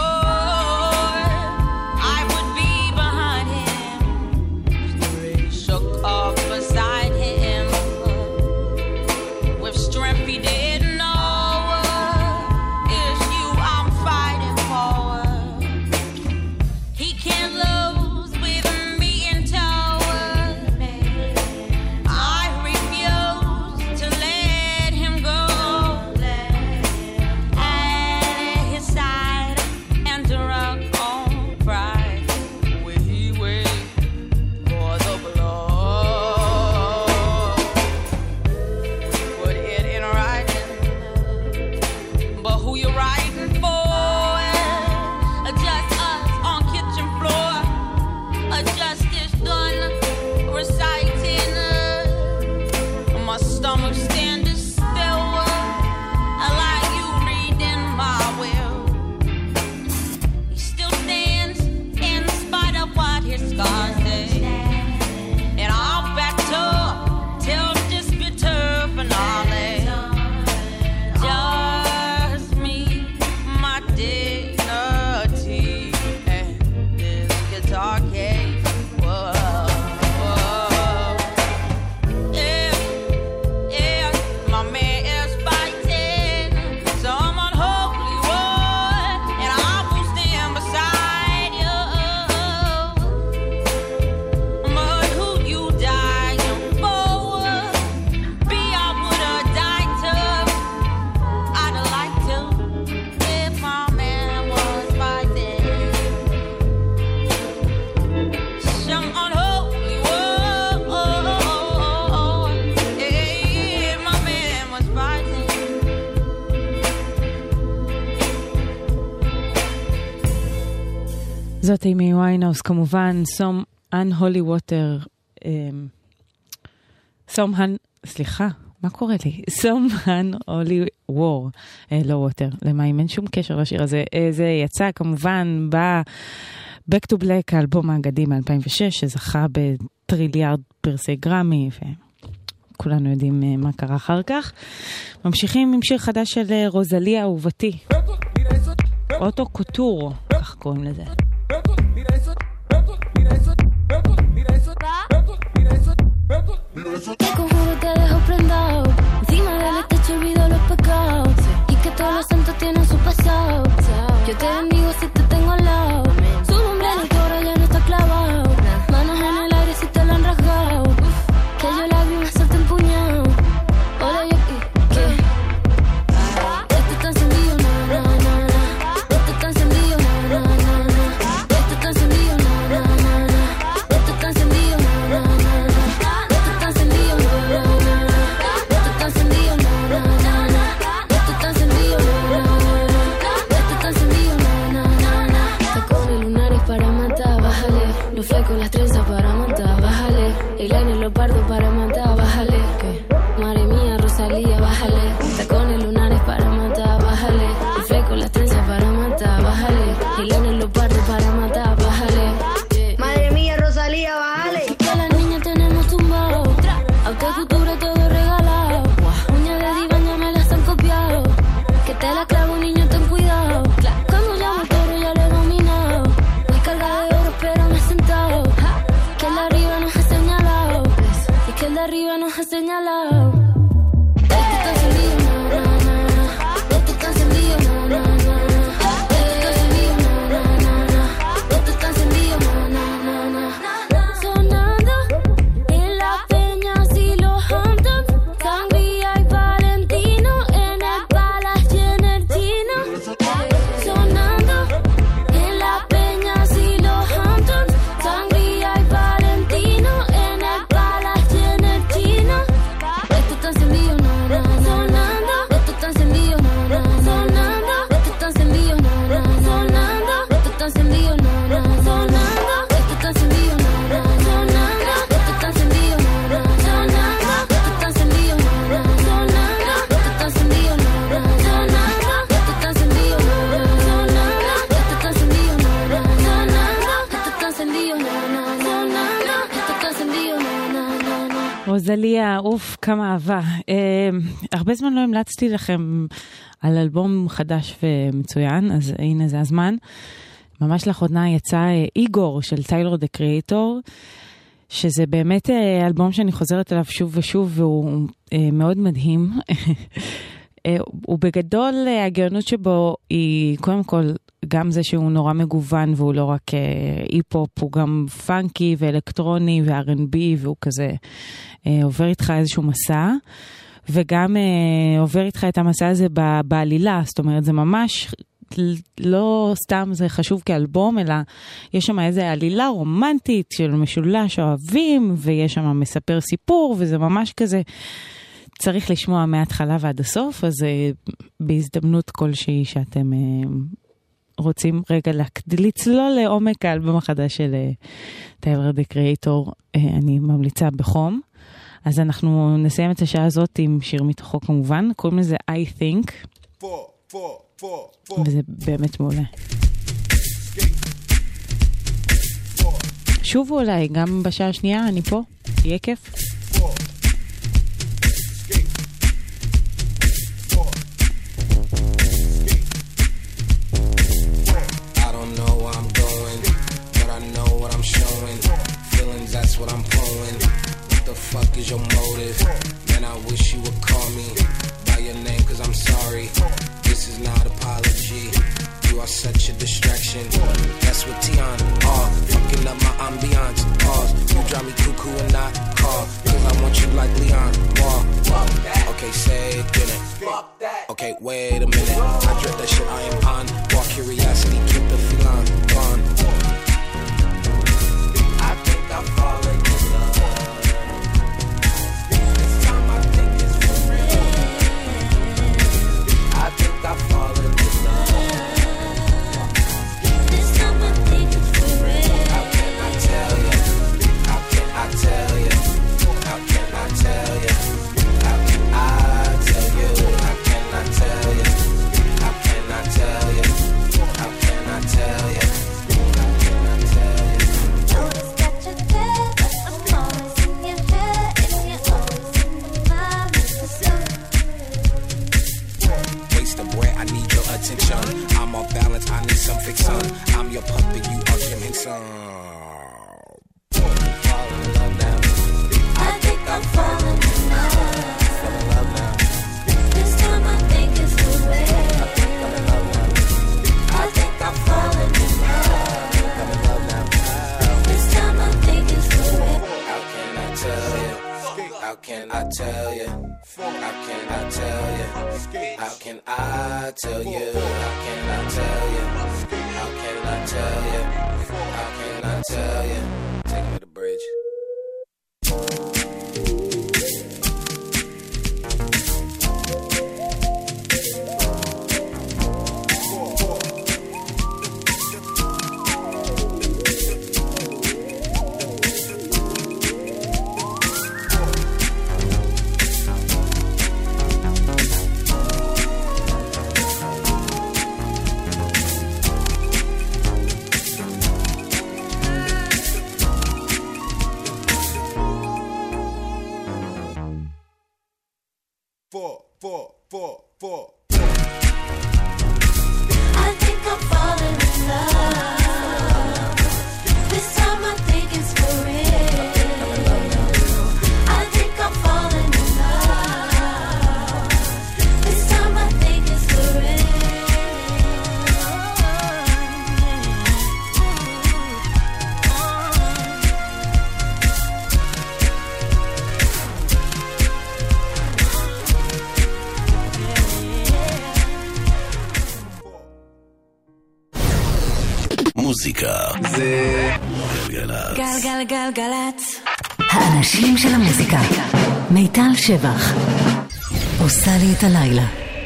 זאת אימי ויינהאוס כמובן, Some Unholy Water, Some Han... סליחה, מה קורה לי? Some Unholy War, אה, לא Water, למים, אין שום קשר לשיר הזה. אה, זה יצא כמובן ב... Back to Black, האלבום האגדי מ-אלפיים ושש, שזכה בטריליארד פרסי גרמי, וכולנו יודעים אה, מה קרה אחר כך. ממשיכים עם שיר חדש של אה, רוזליה אהובתי. אוטו קוטור, כך קוראים לזה. Te conjuro te dejo prendado. Encima del techo olvido los pecados. Y que todos los santos tienen su pasado. Yo te bendigo si te tengo al lado. Su nombre en el coro ya no está clavado. Manos en el aire si te lo han rasgado. Que yo lágrimas suelto el puñado. Hola yo ¿qué? Esto está encendido, na na na na. Esto está encendido, na na na na. Esto está encendido, na na na na. Esto está encendido, na na na na. Los flecos, las trenzas para matar, bájale. El aire, los pardos para matar, bájale. ¿Qué? Madre mía, Rosalía, bájale. Tacones lunares para matar, bájale. El fleco, las trenzas para matar, bájale. El aire, los pardos para matar, bájale. Madre mía, Rosalía, bájale. Que las niñas tenemos tumbado. Autocultura todo regalado. Uñas de diván ya me las han copiado. Que te la clavo, niño, ten cuidado. Cuando llamo el toro ya lo he dominado. Voy cargada de oro, pero me he sentado. Que el de arriba nos ha señalado. Y que el de arriba nos ha señalado. Esto está encendido, na, na, na, na. Esto está encendido, na, na, na, na. Esto está encendido, na, na, na, na. Esto está encendido, na, na, na, na. Sonando en la Peña y los Hamptons, Sangría y Valentino, en el Palace y en el Chino. Sonando en la Peña y los Hamptons, Sangría y Valentino, en el Palace y en el Chino. Esto está encendido, na, na, sonando. Esto está encendido, na, na, sonando. Esto está encendido, na, na, sonando. Esto está encendido, na, na, sonando. Esto está encendido, na, na, sonando. Esto está encendido, na, na, sonando. Esto está encendido, na, na, sonando. Esto está encendido, na, na, sonando. Esto está encendido, na, na, sonando. Esto está encendido, na, na, sonando. Esto está encendido, na, na, sonando. Esto está encendido, na, na, na. רוזליה, אוף, כמה אהבה. אה, הרבה זמן לא המלצתי לכם על אלבום חדש ומצוין, אז הנה זה הזמן. ממש לאחרונה יצא אה, איגור של טיילר דה קריאטור, שזה באמת אה, אלבום שאני חוזרת אליו שוב ושוב, והוא אה, מאוד מדהים. אה, הוא בגדול, אה, הגאונות שבו היא קודם כל גם זה שהוא נורא מגוון, והוא לא רק אה, אי-פופ, הוא גם פאנקי ואלקטרוני ו-אר אנד בי, והוא כזה אה, עובר איתך איזשהו מסע, וגם אה, עובר איתך את המסע הזה ב- בעלילה, זאת אומרת, זה ממש לא סתם זה חשוב כאלבום, אלא יש שם איזו עלילה רומנטית של משולש אוהבים, ויש שם מספר סיפור, וזה ממש כזה צריך לשמוע מההתחלה ועד הסוף, אז אה, בהזדמנות כלשהי שאתם... אה, רוצים רגע לצלול לעומק האלבום החדש של טיילר דה קריאטור, אני ממליצה בחום. אז אנחנו נסיים את השעה הזאת עם שיר מתוכו כמובן, קוראים לזה I Think, וזה באמת מעולה. שובו אליי, גם בשעה השנייה אני פה, יהיה כיף. What I'm pulling, what the fuck is your motive? Man, I wish you would call me by your name, cause I'm sorry. This is not apology. You are such a distraction. That's what Tion are, fucking up my ambiance. Pause, you drive me cuckoo and not call, cause I want you like Leon. More, okay, say it, didn't. Okay, wait a minute. I dread that shit, I am on. More curiosity, keep the feline gone. I think I'm falling in love. This time I think it's for real. I think I'm falling in love. This time I think it's for real. I'm off balance, I need some fix on. I'm your puppet, you are Jim Henson. Falling in love now. I think I'm falling in love. Fall in love now. This time I think it's the way. I think I'm in love now. I think I'm falling in love. I'm in love now. This time I think it's the way. How can I tell you? How can I tell you? How can I tell you? How can I tell you? How can I tell you? How can I tell you? How can I tell you? Take me to the bridge. Four, four, four, four. I think I'm falling in love. This time I think it's for real. I think I'm falling in love. This time I think it's for מוזיקה זה גלגלצ. גלגלגלגלצ. האנשים של המוזיקה. מיטל שבח עושה לי את הלילה.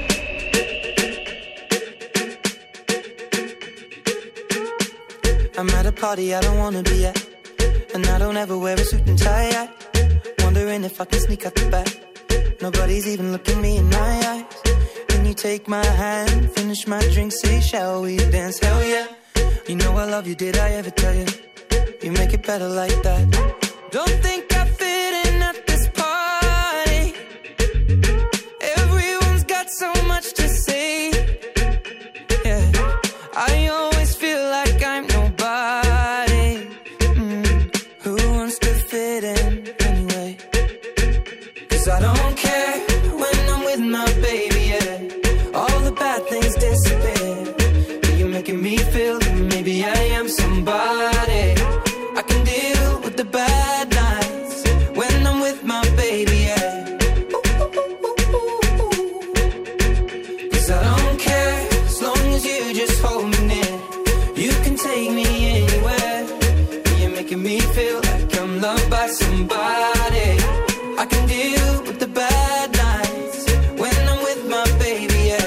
I'm at a party I don't wanna be at, and I don't ever wear a suit and tie yet. Wondering if I can sneak out the back. Nobody's even looking me in my eyes. Can you take my hand, finish my drink, say shall we dance? Hell yeah. You know I love you, did I ever tell you? You make it better like that. Don't think I fit in at this party. Everyone's got so much to say. Yeah, I always feel like I'm nobody. Mm. Who wants to fit in anyway? 'Cause I don't care when I'm with my baby, yeah. All the bad things disappear. You're making me feel that maybe I am somebody. I can deal with the bad nights when I'm with my baby, yeah. 'Cause I don't care as long as you just hold me near. You can take me anywhere. You're making me feel like I'm loved by somebody. I can deal with the bad nights when I'm with my baby, yeah.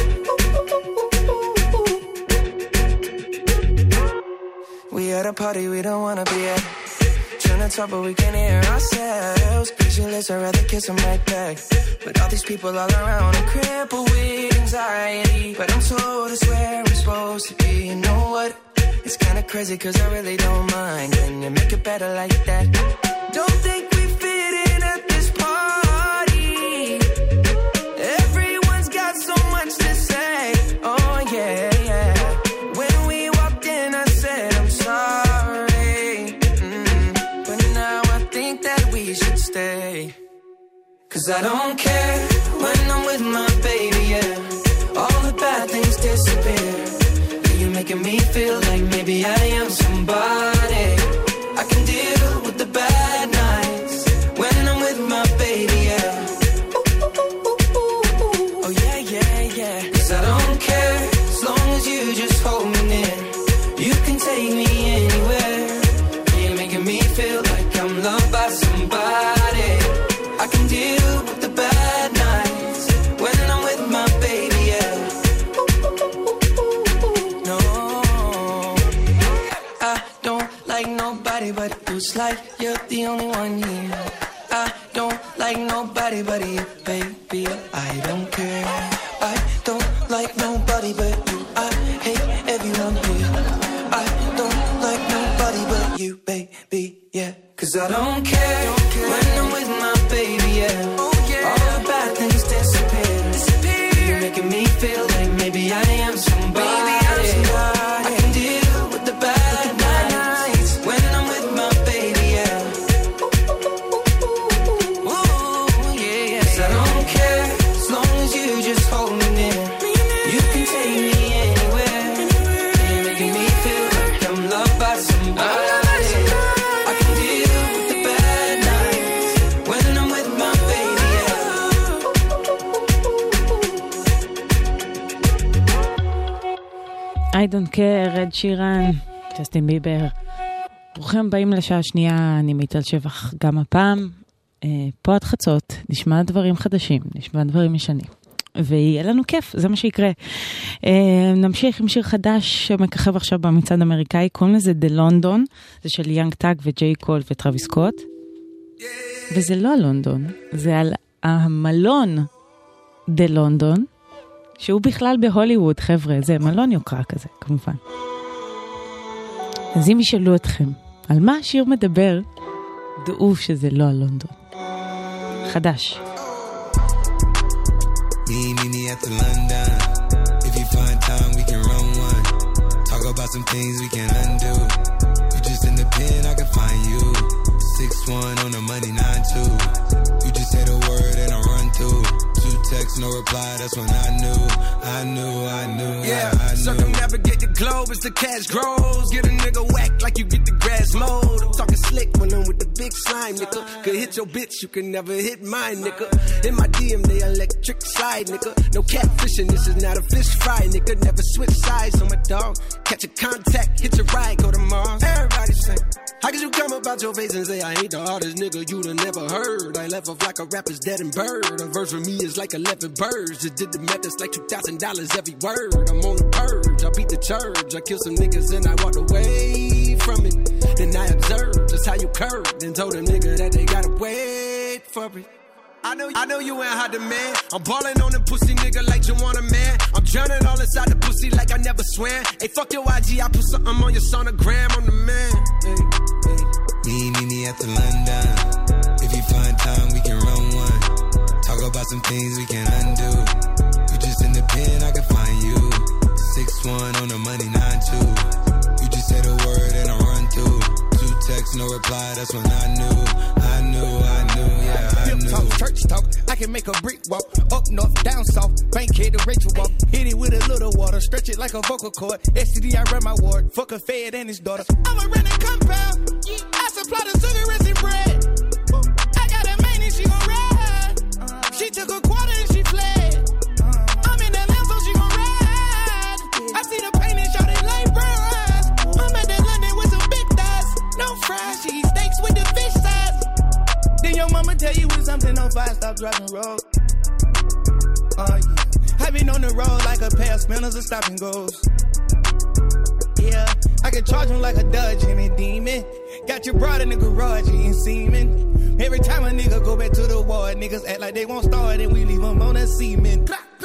We at a party we don't wanna be at. Trying to talk but we can't hear ourselves. Pictureless, I'd rather kiss them right back. But all these people all around, I'm crippled with anxiety. But I'm told it's where I'm supposed to be. You know what? It's kinda crazy 'cause I really don't mind. Can you make it better like that? Don't think we fit in at this party. Everyone's got so much to say. Oh yeah, yeah. When we walked in I said I'm sorry. Mm. But now I think that we should stay. 'Cause I don't care when I'm with my baby, yeah. All the bad things disappear. You're making me feel like maybe I am somebody. I can deal with the bad nights when I'm with my baby, yeah. Oh yeah, yeah, yeah. 'Cause I don't care as long as you just hold me near. You can take me anywhere. You're making me feel like I'm loved by somebody. I can deal with the bad nights when I'm with my baby, yeah. No, I don't like nobody but you. It's like you're the only one here. I don't like nobody but you, baby. I don't care. I don't like nobody but you. I hate everyone here. I don't like nobody but you, baby, yeah. 'Cause I don't care, don't care when I'm with my baby, yeah. Oh, yeah. All the bad things disappear. disappear. You're making me feel like maybe I am somebody. I don't care, רד שירן, ג'סטין ביבר. ברוכים הבאים לשעה השנייה, אני מיטל שבח גם הפעם. אה, פה עד חצות, נשמע דברים חדשים, נשמע דברים ישנים. ויהיה לנו כיף, זה מה שיקרה. אה, נמשיך עם שיר חדש שמככב עכשיו במצעד האמריקאי, קוראים לזה The London, זה של יאנג טאג וג'יי קול וטרוויס סקוט. וזה לא הלונדון, זה על המלון The London, שהוא בכלל בהוליווד, חבר'ה, זה מלון יוקרה כזה, כמובן. אז אם ישאלו אתכם, על מה השיר מדבר, דעו שזה לא הלונדון. חדש. Me, me, me at the London. If you find time, we can run one. Talk about some things we can undo. You just in the pen, I can find you. six one on the money, nine two. You just say the word and I run through. Two texts, no reply, that's when I knew. I knew, I knew, yeah, I, I knew. Circumnavigate the globe as the cash grows. Get a nigga whack like you get the grass mowed. I'm talking slick when I'm with the big slime, nigga. Could hit your bitch, you can never hit mine, nigga. In my D M, they electric slide, nigga. No catfishing, this is not a fish fry, nigga. Never switch sides on my dog. Catch a contact, hit your ride, go to Mars. Everybody say, how could you come about your face and say I ain't the hardest nigga you'd have never heard? I left off like a rapper's dead and bird. A verse for me is like eleven birds. Just did the math, it's like two thousand dollars every word. I'm on the purge, I beat the church. I killed some niggas and I walked away from it. Then I observed just how you curved and told a nigga that they gotta wait for it. I know, I know you ain't hot demand. I'm ballin' on them pussy nigga like you want a man. I'm drowning all inside the pussy like I never swam. Hey, fuck your I G, I put something on your sonogram. I'm the man. Hey, hey. Me, me, me at the London. If you find time, we can run one. Talk about some things we can undo. You just in the pen, I can find you. six one on the money, nine two. You just say the word and I run through. Two texts, no reply, that's when I knew. I knew, I knew, yeah, I Pimp knew. talk, church talk, I can make a brick walk. Up north, down south, Bankhead to Rachel walk. Hit it with a little water, stretch it like a vocal cord. S T D, I run my ward, fuck a fed and his daughter. I'm a renting compound, I supply the sugar and bread. I got a main and she gon' ride. She took a quarter and she fled. I'm in that land so she gon' ride. I see the pain and shot it like bros. I'm at that London with some big thighs. No fries, she eat steaks with the fish size. Then your mama tell you when something on fire, stop driving road. Oh yeah, I been on the road like a pair of spinners and stopping goes. Yeah, I can charge him like a Dodge and a demon. Got your broad in the garage eating semen. Every time a nigga go back to the ward, niggas act like they won't start and we leave them on a semen.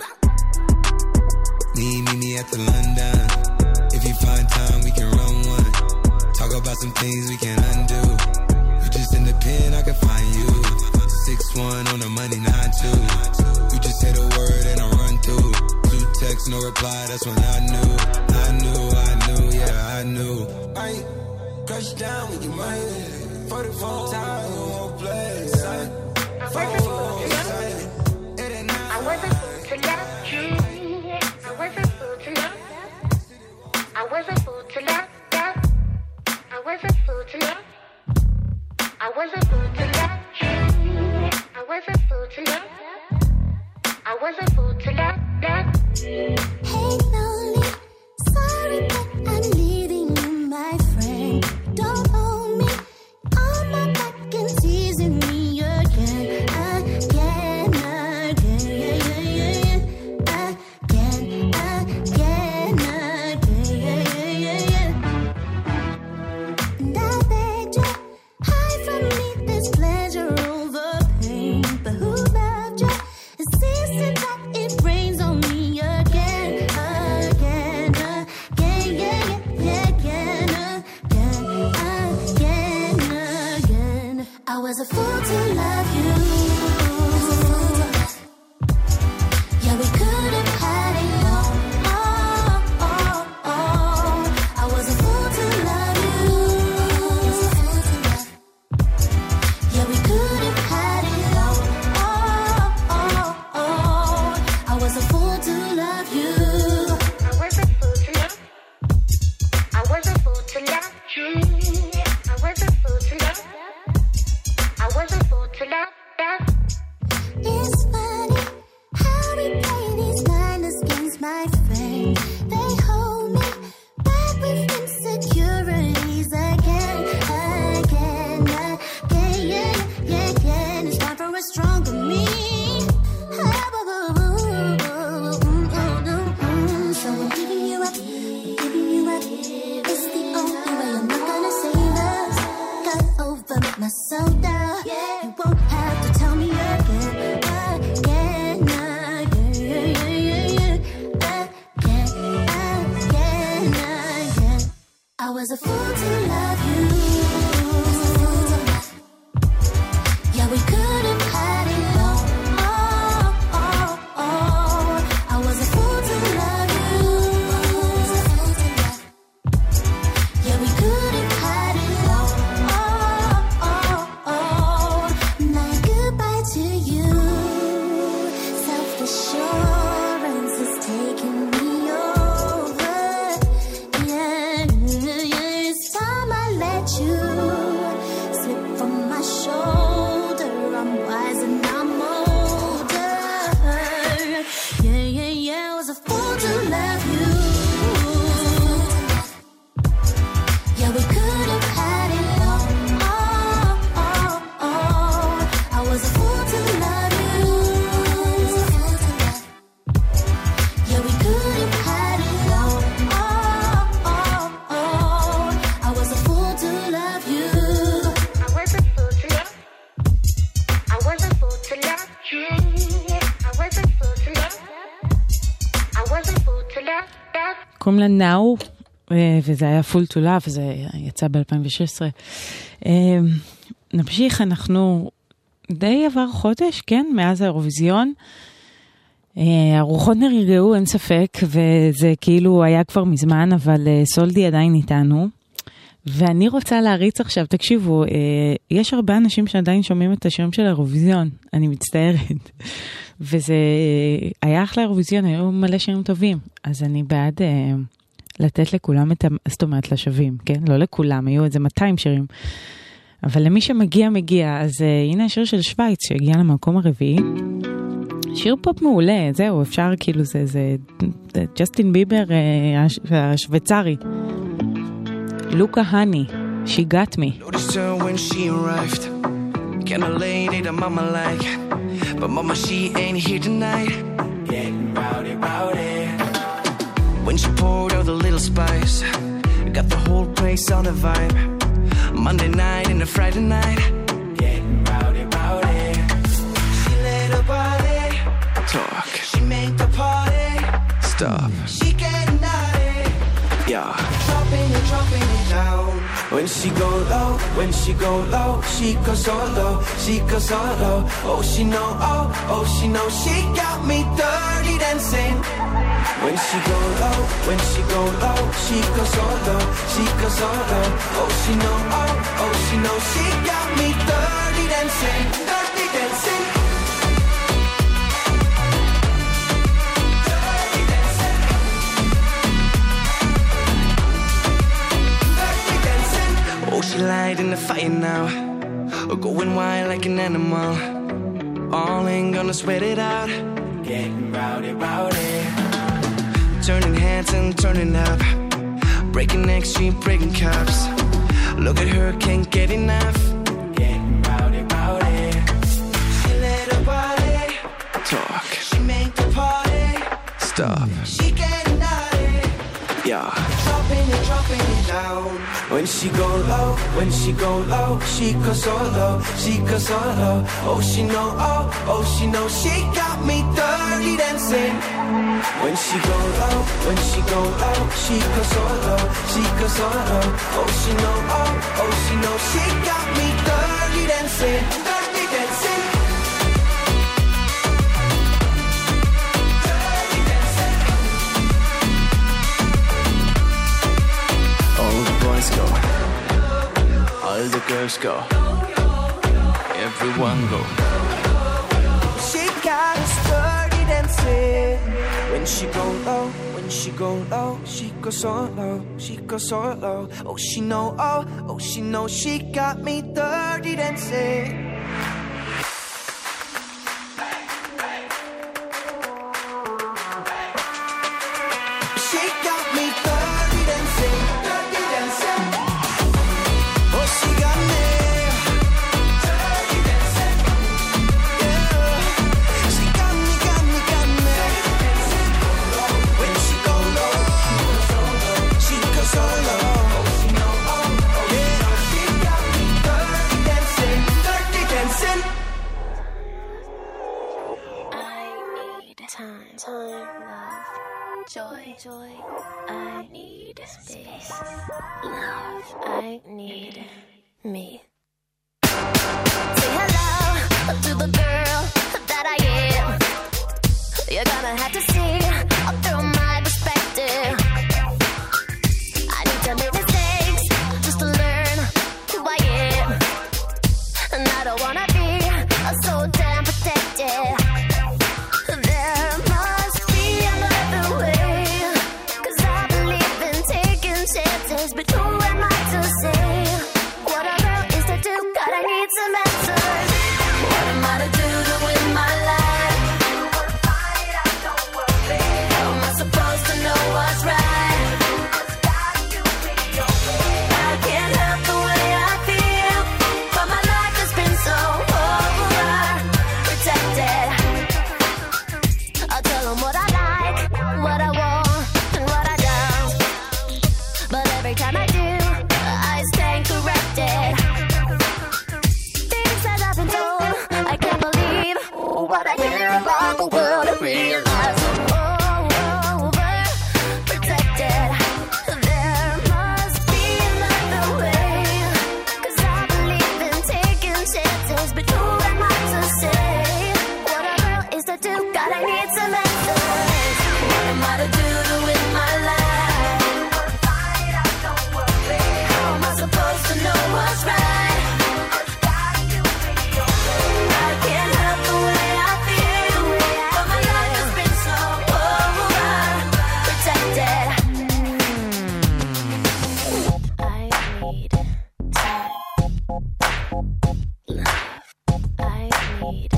Me, me, me at the London. If you find time, we can run one. Talk about some things we can undo. You just in the pen, I can find you. six one on the money, nine two. You just say the word and I run through. Two texts, no reply, that's when I knew. I knew, I knew, yeah, I knew. I ain't crush down with your money. forty-four times, you won't play. I wasn't fool to love you. I wasn't fool to love you. I wasn't fool to love you. I wasn't fool to love you. I wasn't fool to love you. I wasn't fool to love you. I wasn't fool to love you. I wasn't fool to love you. Hey, lonely, sorry, but I'm leaving you, my friend. Don't hold me on my back and teasing me again, again, again, yeah, yeah, yeah, again, again, again, yeah, yeah, yeah. And I begged you, hide from me this pleasure over pain, but who loved you? Insisted that it rains on me again, again, again, yeah, yeah, again, again, again, again. I was a fool to love you. Yeah, we could have had it all. Oh, oh, oh. I was a fool to love you. Yeah, we could have had it all. Oh, oh, oh. I was a fool to love you. I was a fool to love. I was a fool to love you. I was a fool to love. I was a fool to love. was a fool to love you. Yeah, we could have had it all. Oh, oh, oh. I was a fool to love you. Yeah, we could have had it all. Oh, oh, oh. Now goodbye to you. Self-assurance is taking me over. Yeah, yeah, it's time I let you slip from my shoulder. I'm wise and I'm older. Yeah, yeah, yeah, I was a fool to love you. Yeah, we could have had it all. Oh, oh, oh. I was a fool to love you. Yeah, we could have had it all. Oh, oh, oh. I was a fool to love you. I was a fool to love. I was a fool to love you. I was a fool to love. I was a fool to love. קוראים לה נאו, אה, וזה היה פול טו לאב, וזה יצא ב-אלפיים ושש עשרה. אה, נמשיך, אנחנו די עבר חודש, כן, מאז האירוויזיון. אה, הרוחות נרגעו, אין ספק, וזה כאילו היה כבר מזמן, אבל אה, סולדי עדיין איתנו. ואני רוצה להריץ עכשיו, תקשיבו, אה, יש הרבה אנשים שעדיין שומעים את השירים של האירוויזיון, אני מצטערת. וזה היה אחלה אירוויזיון, היו מלא שירים טובים. אז אני בעד אה, לתת לכולם את, ה- זאת אומרת, לשווים, כן? לא לכולם, היו איזה מאתיים שירים. אבל למי שמגיע, מגיע. אז אה, הנה השיר של שוויץ, שהגיע למקום הרביעי. שיר פופ מעולה, זהו, אפשר כאילו, זה, זה, זה ג'סטין ביבר אה, הש, השוויצרי. לוקה הני, She Got Me. Noticed her when she arrived. Kinda late, ate a mama like. But mama, she ain't here tonight. Getting rowdy, rowdy. When she poured out the little spice, got the whole place on the vibe. Monday night and a Friday night. Getting rowdy, rowdy. She let her body talk. She make the party stop. She getting naughty. Yeah. Dropping it, dropping it down. When she go low, when she go low, she goes so low, she goes so low. Oh, she know, oh, oh, she know, she got me dirty dancing. When she go low, when she go low, she goes so low, she goes so low. Oh, she know, oh, oh, she know, she got me dirty dancing, dirty dancing. Oh, she lied in the fire now, going wild like an animal. All ain't gonna sweat it out. Getting rowdy, rowdy. Turning heads and turning up, breaking necks, she breaking cups. Look at her, can't get enough. Getting rowdy, rowdy. She let her body talk. She make the party stop. She getting naughty. Yeah. Dropping it, dropping it down. When she go low, when she go low, she goes so low, she goes so low. Oh, she know, oh, oh, she know, she got me dirty dancing. When she go low, when she go low, she goes so low, she goes so low. Oh, she know, oh, oh, she know, she got me dirty dancing, dirty dancing. Go. All the girls go. Everyone go. She got us dirty dancing. When she go low, when she go low, she goes so low, she goes so low. Oh, she know, oh, oh, she know, she got me dirty dancing. She got me dirty dancing. Time, love, joy, joy. I need space. I need me. Say hello to the girl that I am. You're gonna have to see through my perspective. I need to make mistakes just to learn who I am. And I don't wanna be so damn protected. There must be another way, 'cause I believe in taking chances. But who am I to say what a girl is to do? God, I need some answers. What am I to do to win my life? How am I supposed to know what's right? I can't help the way I feel, but my life has been so overprotected. I'll tell them what I like, what I want, and what I don't. But every time I do, I stand corrected. Things that I've been told, I can't believe what I hear about the world and realize I'm overprotected. There must be another way, 'cause I believe in taking chances. But who am I to say what a girl is to do? God, I need some answers. What am I to do to win my life? How am I supposed to know what's right? I can't help the way I feel, but my life has been so overprotected. I need I need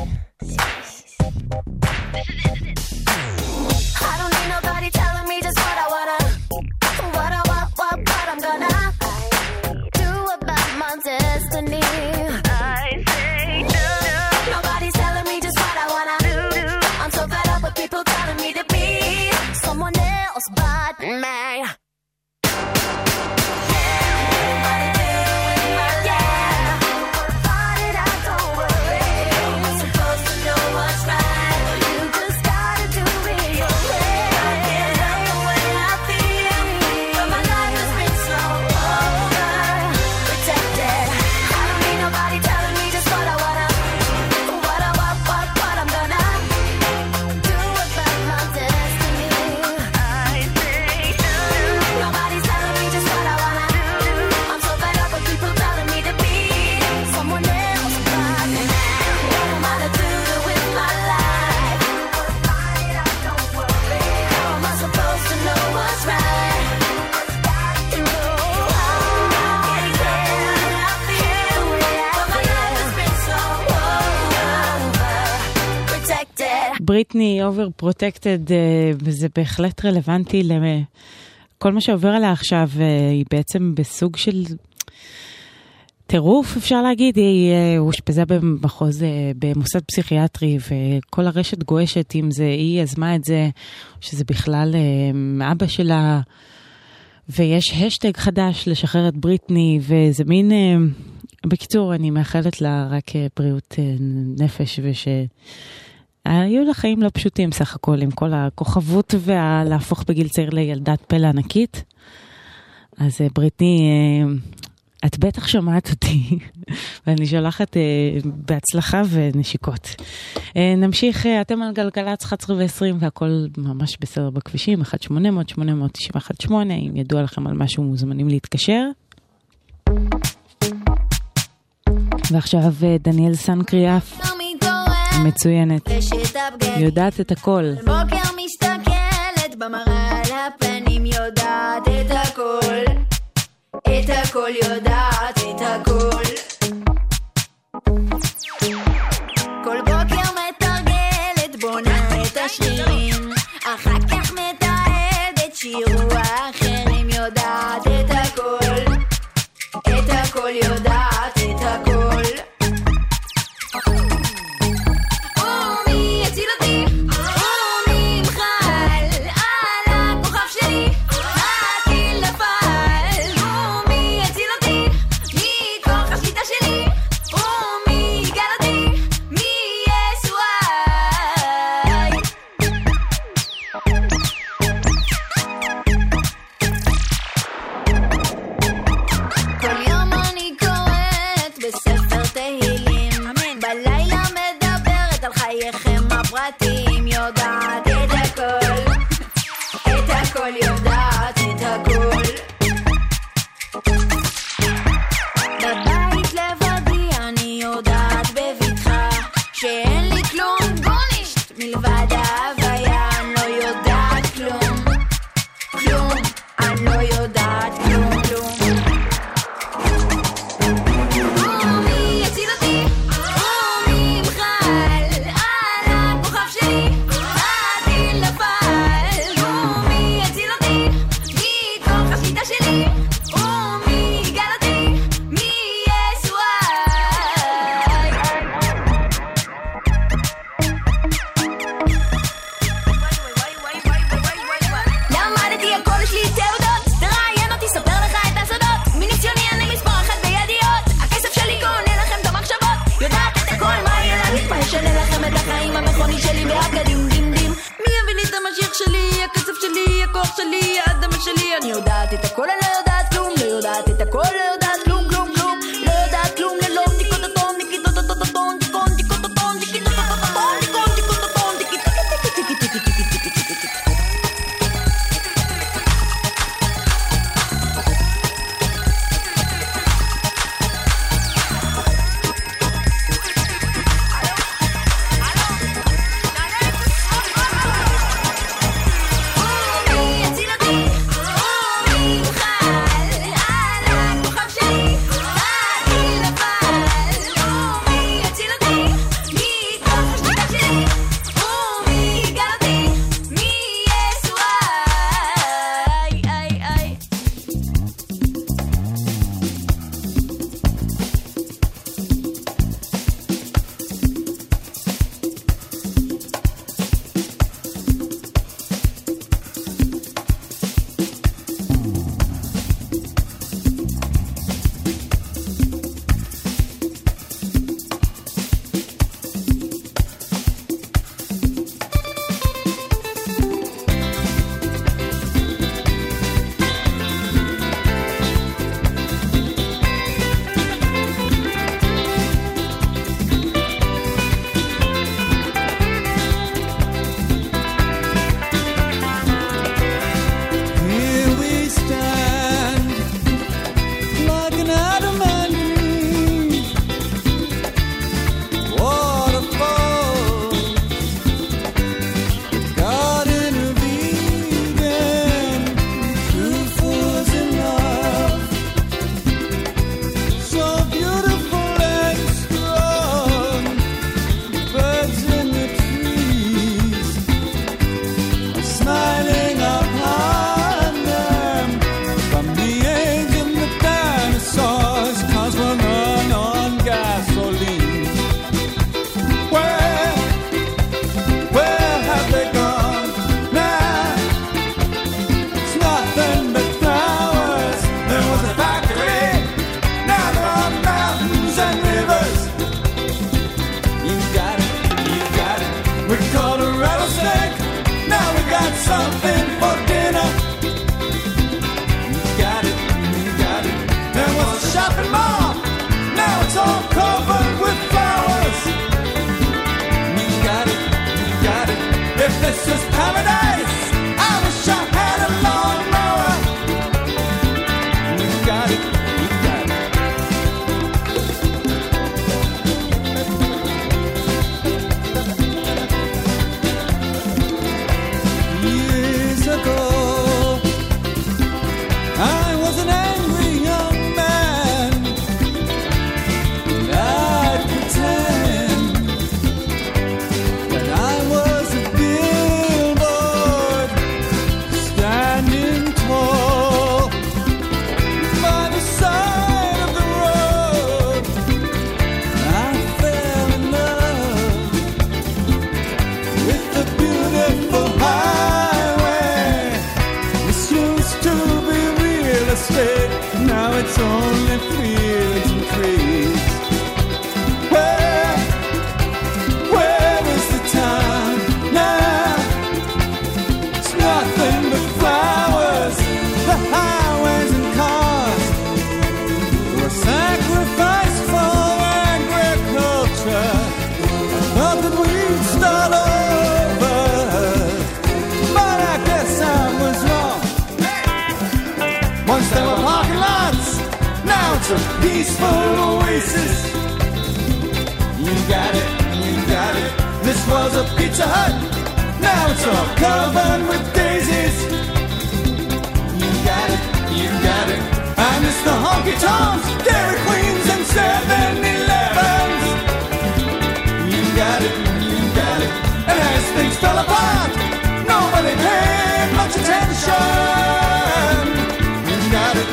I don't need nobody telling me just what I wanna, what I want, what, what I'm gonna do about my destiny. I say no. Nobody's telling me just what I wanna do. I'm so fed up with people telling me to be someone else but me. בריטני overprotected, וזה בהחלט רלוונטי לכל מה שעובר עליה עכשיו. היא בעצם בסוג של טירוף, אפשר להגיד. היא הושפזה במחוז, במוסד פסיכיאטרי, וכל הרשת גועשת אם זה היא יזמה את זה, שזה בכלל אבא שלה, ויש השטג חדש לשחרר את בריטני, וזה מין, בקיצור, אני מאחלת לה רק בריאות נפש, וש... היו לה חיים לא פשוטים סך הכל, עם כל הכוכבות ולהפוך בגיל צעיר לילדת פלא ענקית. אז בריטני, את בטח שומעת אותי, ואני שולחת בהצלחה ונשיקות. נמשיך, אתם על גלגלצ אחת עשרה ועשרים, והכל ממש בסדר בכבישים, אחת שמונה אפס אפס שמונה אפס תשע אחת שמונה, אם ידוע לכם על משהו מוזמנים להתקשר. ועכשיו דניאל סנקריאף. מצוינת, יודעת את הכל. בוקר מסתכלת במראה על הפנים, יודעת את הכל, את הכל יודעת את הכל. כל בוקר מתרגלת, בונה את השרירים, אחר כך מתעדת שירו האחרים, יודעת את הכל, את הכל יודעת את הכל. Cause Nobody paid much attention. You got it,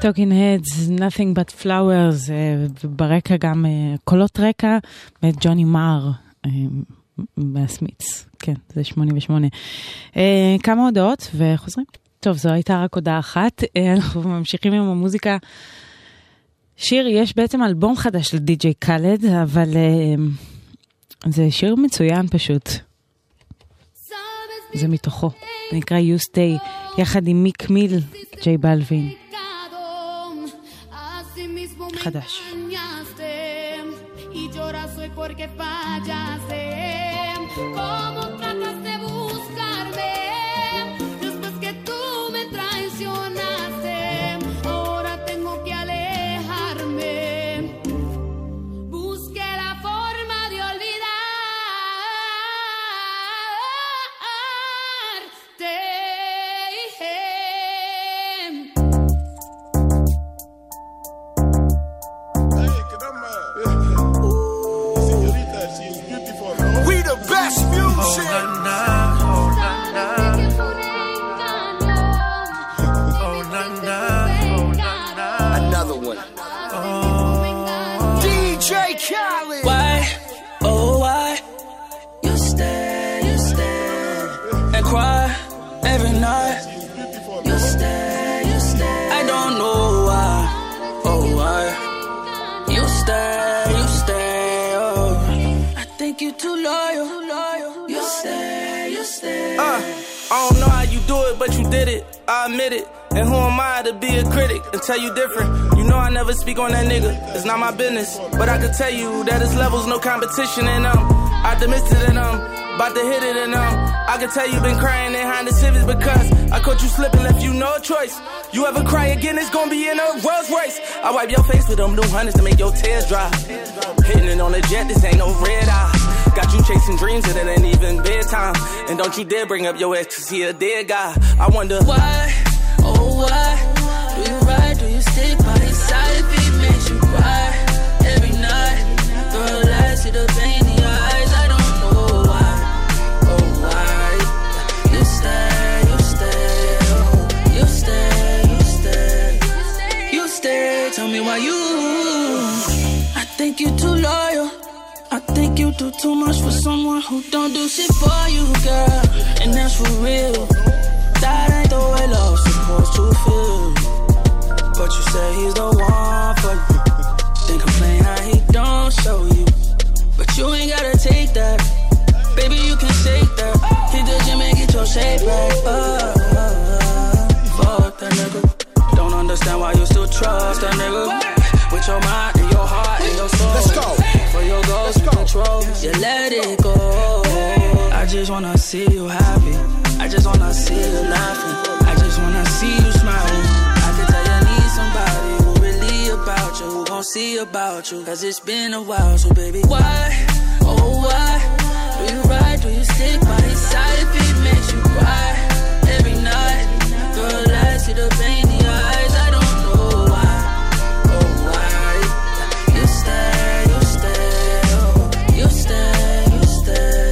Talking Heads, Nothing But Flowers, וברקע גם קולות רקע, וג'וני מר מהסמיץ, כן, זה שמונים ושמונה. כמה הודעות וחוזרים. טוב, זו הייתה רק הודעה אחת, אנחנו ממשיכים עם המוזיקה. שיר, יש בעצם אלבום חדש לדי-ג'יי קאלד, אבל זה שיר מצוין פשוט. זה מתוכו, זה נקרא You Stay, יחד עם מיק מיל, ג'יי בלווין. חדש. Y lloras hoy porque fallaste. ¿Cómo tratas de buscarme después que tú me traicionaste? Ahora tengo que alejarme. Busqué la forma de olvidarte. Why, oh why, you stay, you stay, and cry every night. You stay, you stay, I don't know why, oh why, you stay, you stay, oh, I think you too loyal, you stay, you stay. Uh, I don't know how you do it, but you did it, I admit it. And who am I to be a critic and tell you different? You know I never speak on that nigga, it's not my business. But I can tell you that his level's no competition and I'm optimistic and I'm about to hit it and um I can tell you been crying behind the civics because I caught you slipping, left you no choice. You ever cry again, it's gonna be in a Rolls Royce. I wipe your face with them new hundreds to make your tears dry. Hitting it on the jet, this ain't no red eye. Got you chasing dreams and it ain't even bedtime. And don't you dare bring up your ex cause he a dead guy. I wonder why, oh why, do you ride, do you stick by his side if he makes you cry every night? Girl, I see the pain in your eyes, I don't know why, oh why, you stay, you stay, oh, you stay, you stay, you stay, tell me why you, I think you too loyal, I think you do too much for someone who don't do shit for you, girl, and that's for real. That ain't the way love's supposed to feel. But you say he's the one for you. Then complain how he don't show you. But you ain't gotta take that. Baby, you can shake that. Hit the gym and get your shape back. Oh, oh, oh. Fuck that nigga. Don't understand why you still trust that nigga. With your mind and your heart and your soul. Let's go. For your goals and control, you let it go. I just wanna see you happy. I just wanna see you laughing. I just wanna see you smiling. I can tell you need somebody who really about you, who gon' see about you. Cause it's been a while, so baby, why, oh why, do you ride, do you stick by his side if he makes you cry every night? Girl, I see the pain in your eyes, I don't know why, oh why, you stay, you stay, oh, you stay, you stay,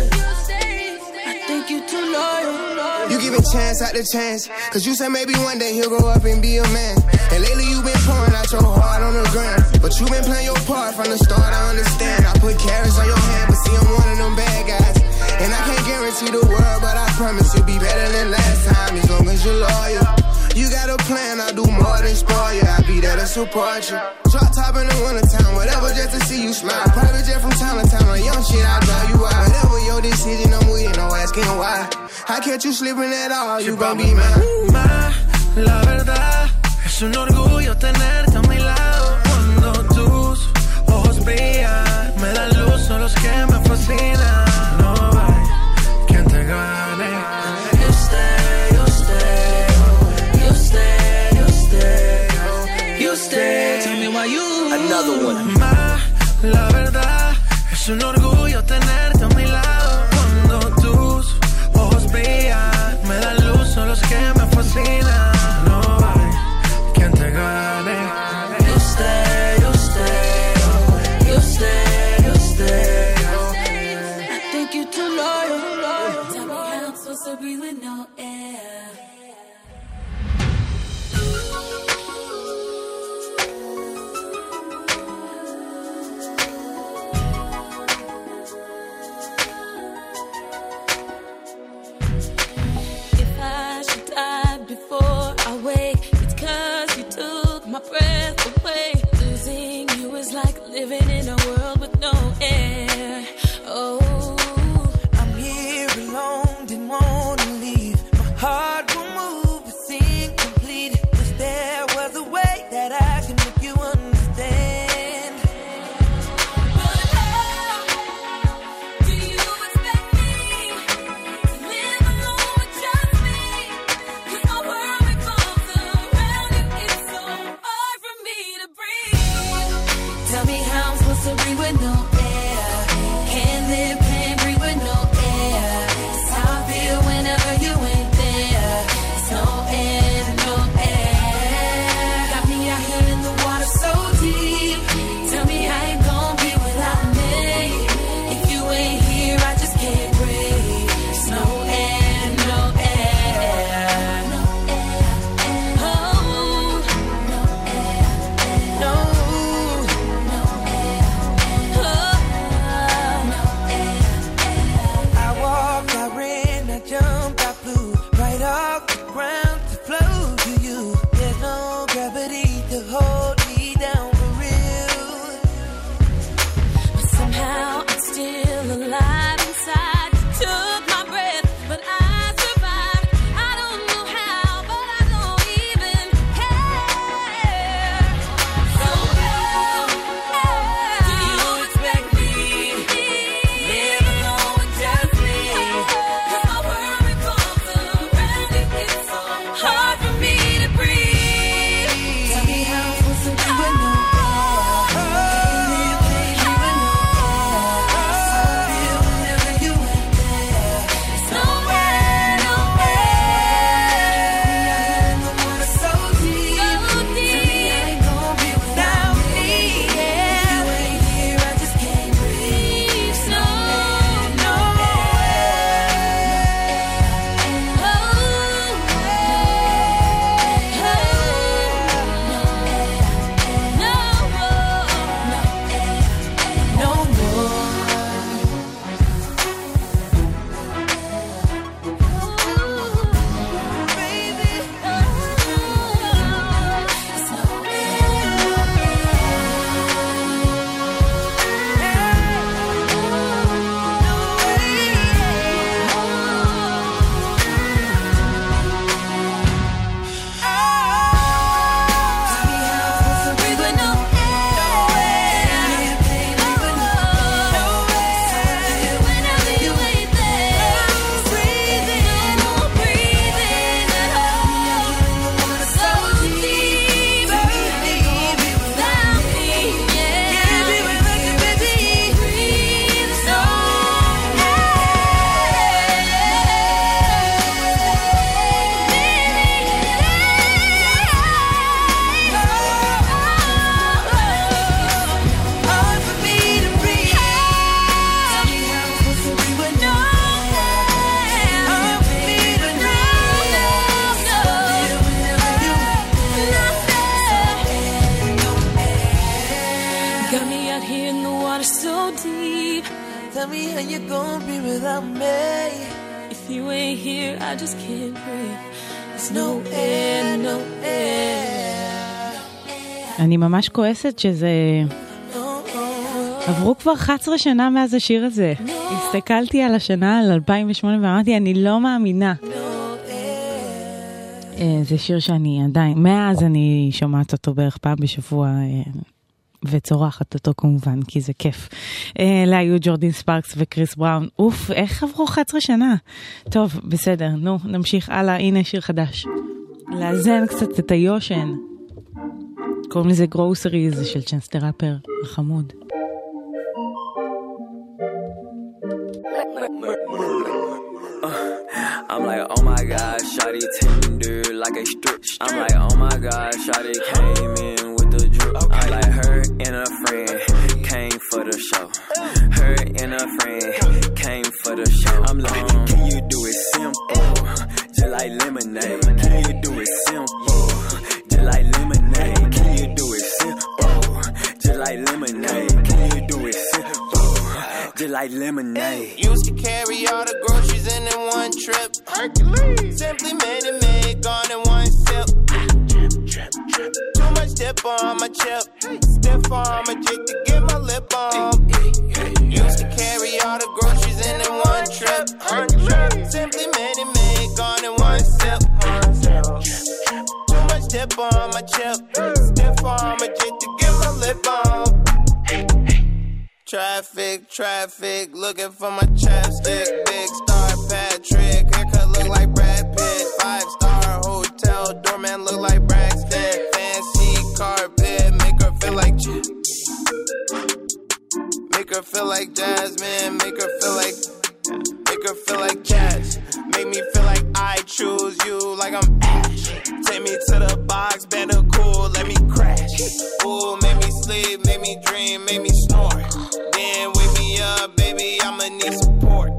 I think you too loyal. You give a chance out the chance, cause you said maybe one day he'll grow up and be a man. And lately you been pouring out your heart on the ground, but you been playing your part from the start, I understand. I put carrots on your hand, but see I'm one of them bad guys. And I can't guarantee the world, but I promise you'll be better than last time, as long as you're loyal. You got a plan, I'll do more than spoil you, I'll be there to support you. Drop top in the wintertime, whatever just to see you smile. Private jet from town to town, on young shit, I'll drive you out. Whatever your decision, I'm with you, no asking why. I catch you slipping at all, you gon' be mine. Ma, la verdad, es un orgullo tenerte a mi lado. Cuando tus ojos brillan, me dan luz, son los que me fascinan. No hay quien te gane. You stay, you stay, you stay, you stay, you stay, tell me why you. Another one. Ma, la verdad, es un orgullo tenerte a mi lado. Cuando tus ojos brillan, me dan luz, son los que me fascinan. No hay quien te gane. You stay, you stay, you stay, you stay, I think you too loyal. Tell me how I'm supposed to breathe with no air. like living in a world with no air. Oh, I'm here alone, didn't wanna leave. My heart will move, it's incomplete. Wish there was a way that I can make you understand. but how do you expect me to live alone with just me? 'Cause my world revolves around you. It's so hard for me to breathe. Tell me how I'm supposed to breathe with no air. Can't live, can't breathe with no air. It's how I feel whenever you ain't there. It's no air, no air. Got me out here in the water so deep. Tell me how you gon' be without me. If you ain't here, I just can't breathe. It's no air, no air. No air. Oh, no air. No. I walked, I ran, I jumped, I flew right off the ground to flow to you. There's no gravity to hold me down for real. But somehow I'm still alive inside. You took my breath, but I survived. I don't know how, but I don't even care. So how do you expect me to live alone with just me? 'Cause my world revolves around you. It's so hard for me to breathe. Tell me how I'm supposed to do it no got me out here in the water so deep. Tell me how you gon' be without me. If you ain't here, I just can't breathe. There's no air, no air. אני ממש כועסת שזה... עברו כבר אחת עשרה שנה מאז השיר הזה. הסתכלתי על השנה, על אלפיים ושמונה, ואמרתי, אני לא מאמינה. זה שיר שאני עדיין, מאז אני שומעת אותו בערך פעם בשבוע, וצורחת אותו כמובן, כי זה כיף. אלה היו ג'ורדין ספארקס וקריס בראון. אוף, איך עברו אחת עשרה שנה? טוב, בסדר, נו, נמשיך הלאה. הנה שיר חדש. לאזן קצת את היושן. קוראים לזה גרוסריז של צ'אנס דה ראפר, החמוד. I'm like, oh my god, shawty tender like a strip. I'm like, oh my god, shawty came in with the drip. I'm like, her and a friend came for the show. Her and a friend came for the show. I'm like, can you do it simple, just like lemonade? Can you do it simple, just like lemonade? Can you do it simple, just like lemonade? Can you do it simple, just like lemonade? Used to carry all the groceries in in one trip. Hercules. Simply made it made, gone in one sip. Too much tip on my chip. Stiff arm a jig to get my lip on. Used to carry all the groceries in in one trip. Simply made it make on in one sip. Too much tip on my chip. Stiff arm a jig to get my lip on. Traffic, traffic, looking for my chapstick. Big Star Patrick, haircut look like Brad Pitt. Five star hotel, doorman look like Braxton. Fancy carpet, make her feel like J- Make her feel like Jasmine, make her feel like Make her feel like Jazz. Make me feel like I choose you like I'm Ash. Take me to the box, better cool, let me crash. Ooh, make me sleep, make me dream, make me snore. Then wake me up, baby, I'ma need support.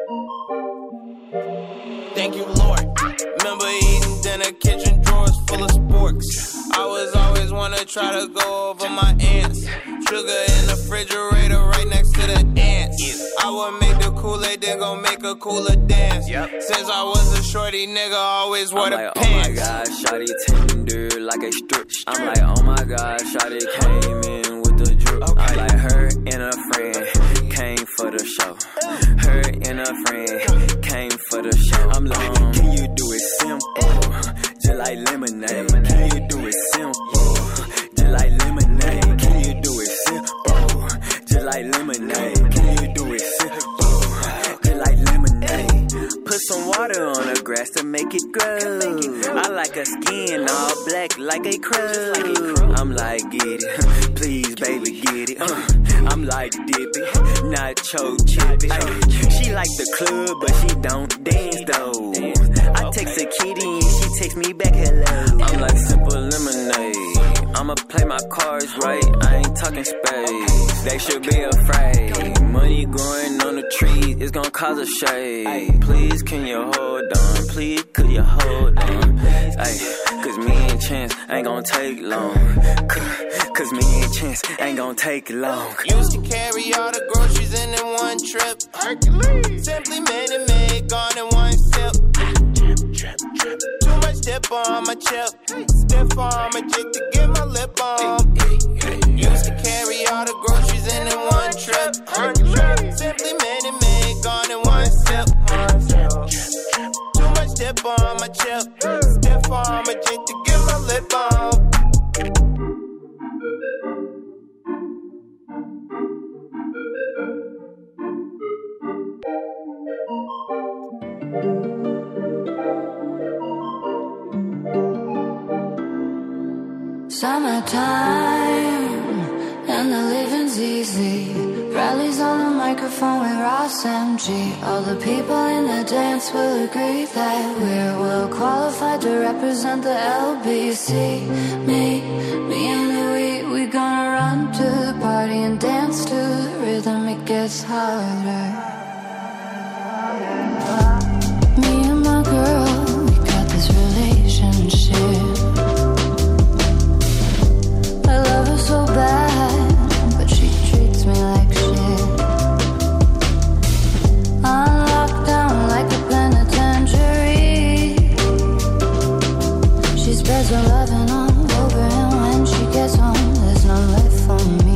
Thank you, Lord. Remember eating dinner, kitchen drawers full of sporks. I was always wanna try to go over my ants. Sugar in the refrigerator right next to the ants. I would make the Kool-Aid, then gon' make a cooler dance. Yep. Since I was a shorty nigga, I always wore I'm the like, pants. oh my god, shawty tender like a strip. I'm like, oh my god, shawty came in with the drip. Okay. I'm like, her and a friend came for the show. Her and a friend came for the show. I'm like, can you do it simple? Just like lemonade. Can you do it simple? Just like lemonade. Can you do it simple? Just like lemonade. Can you do it simple? Just like lemonade. Put some water on the grass to make it grow. I like her skin all black like a crow. I'm like, get it. Please, baby, get it. Uh, I'm like, dip it. Nacho chip it. Uh, she like the club, but she don't dance though. I text a kitty and she text me back hello. I'm like simple lemonade. I'ma play my cards right. I ain't talking space. They should be afraid. Money growing on the trees, it's gonna cause a shade. Please, can you hold on? Please, could you hold on? Ay, cause me and Chance ain't gonna take long. Cause me and Chance ain't gonna take long. Used to carry all the groceries in in one trip. Hercules. Simply made it make gone in one sip. Too much dip on my chip. Stiff arm a jig to get my lip on. Used to carry all the groceries in in one trip. Hercules. Simply made it make gone in one sip. Too much dip on my chip. Stiff arm a jig to get my lip on. Summertime and the living's easy. Rallies on the microphone with Ross M G. All the people in the dance will agree that we're well qualified to represent the L B C. Me, me and Louis, we gonna run to the party and dance to the rhythm. It gets harder. Me and my girl, we got this relationship. I love her so bad, but she treats me like shit. I'm locked down like a penitentiary. She spreads her loving all over, and when she gets home, there's none left for me.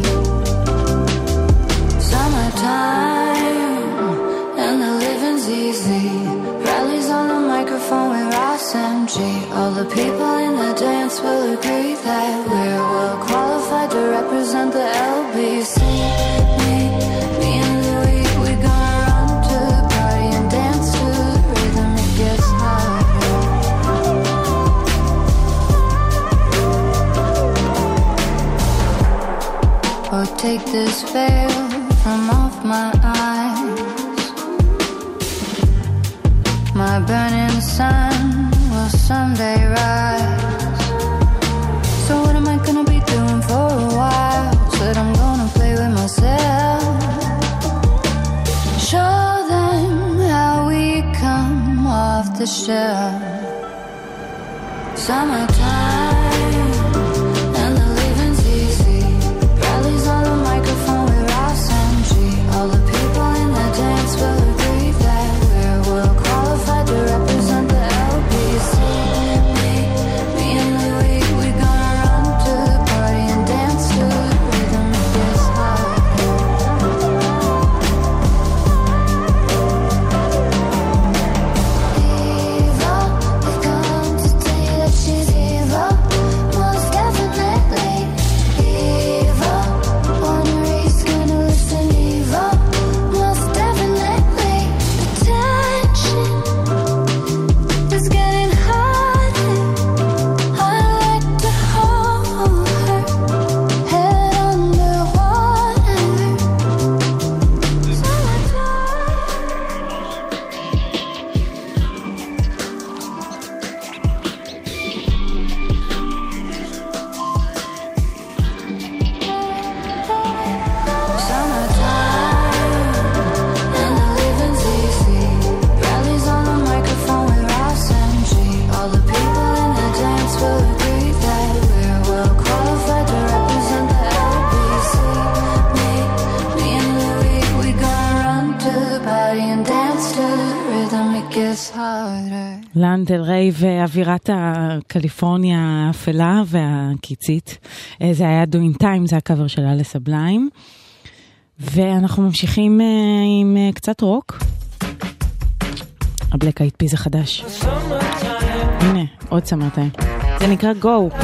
Summertime, and the living's easy. Rallies on the microphone with Ross M G. All the people in the dance will agree that we're well qualified to represent the L B C. Me, me and Louis, we gonna run to the party and dance to the rhythm. It gets harder. Oh, take this veil from off my eyes. My burning sun will someday rise. So what am I gonna be doing for a while? Said I'm gonna play with myself. Show them how we come off the shelf. Summertime and the living's easy. Rallies on the microphone with Ross M G. All the people in the dance will agree that we're well qualified to represent the L B C. Me, me and Louis, we gonna run to the harder. לאן דל ריי ואווירת הקליפורניה האפלה והקיצית. זה היה Doing Time, זה הקאבר של אלה סבליים. ואנחנו ממשיכים עם קצת רוק. הבלק אייד פיז החדש. הנה, עוד סמרטיים. זה נקרא Go.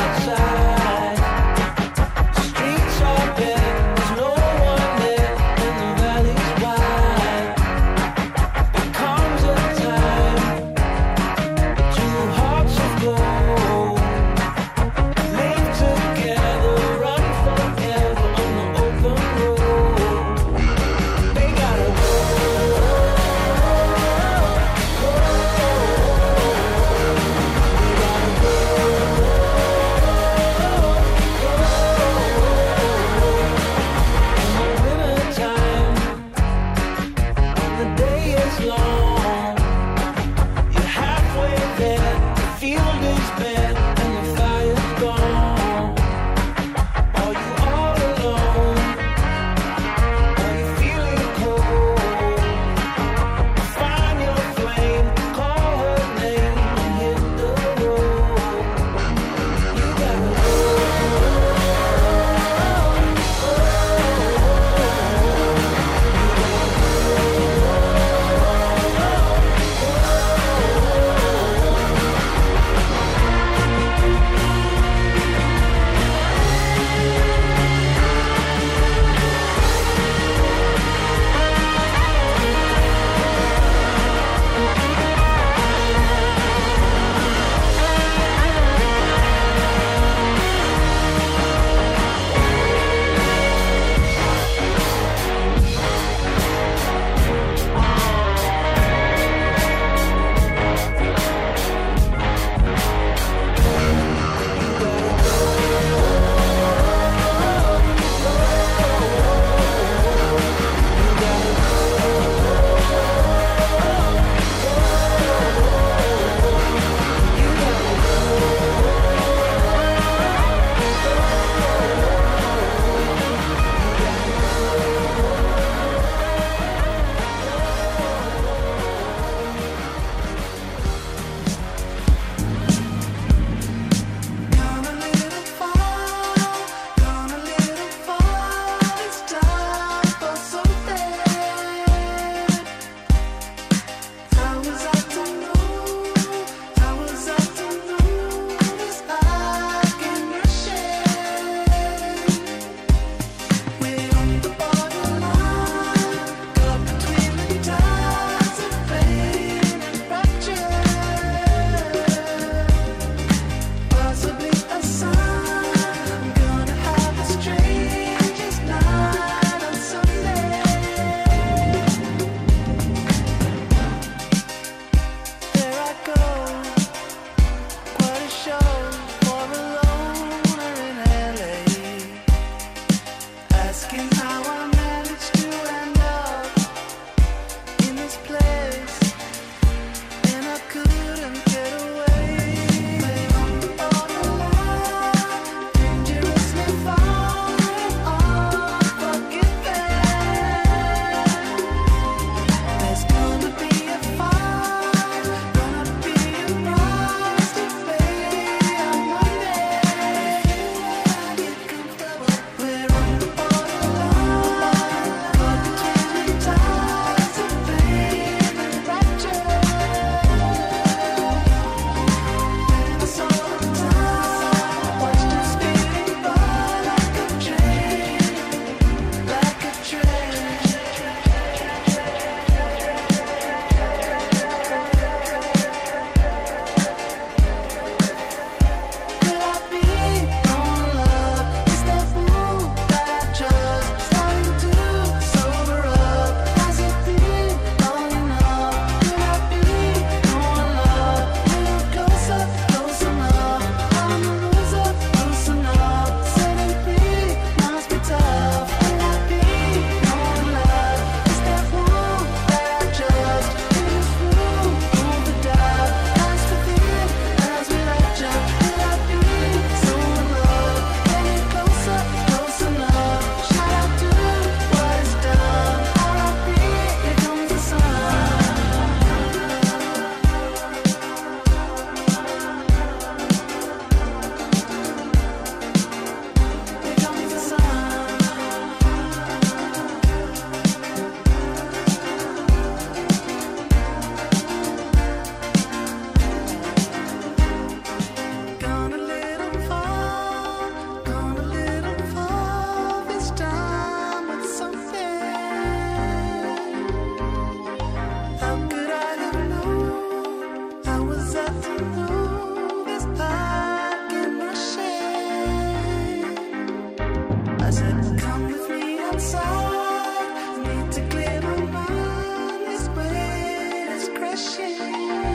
inside. I need to clear my mind. This weight is crushing.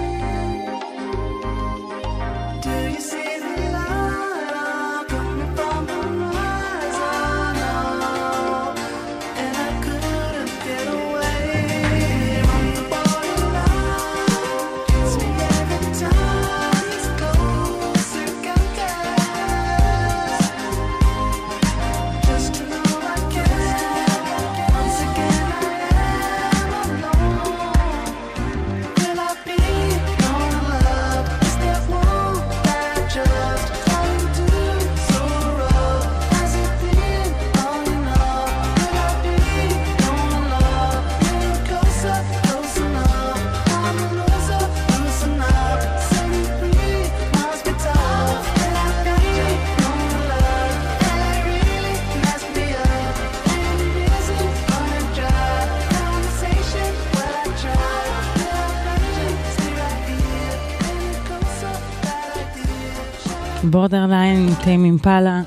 Do you see the light coming from the horizon? And I couldn't get away from the borderline. Hits me every time it's closer, got gas. Just to know I can. Once again I am alone. Will I be known love? Is there one that just come to so rough? Has it been long enough? Will I be known love? Little closer, close enough. I'm a loser, loosen up. Set me free, must be tough. Will I be known love? And it really messed me up. And it isn't gonna dry. Conversation, well I tried. Will I find you? Stay right here. Any closer that I did. בורדרליין, טיים אימפלה.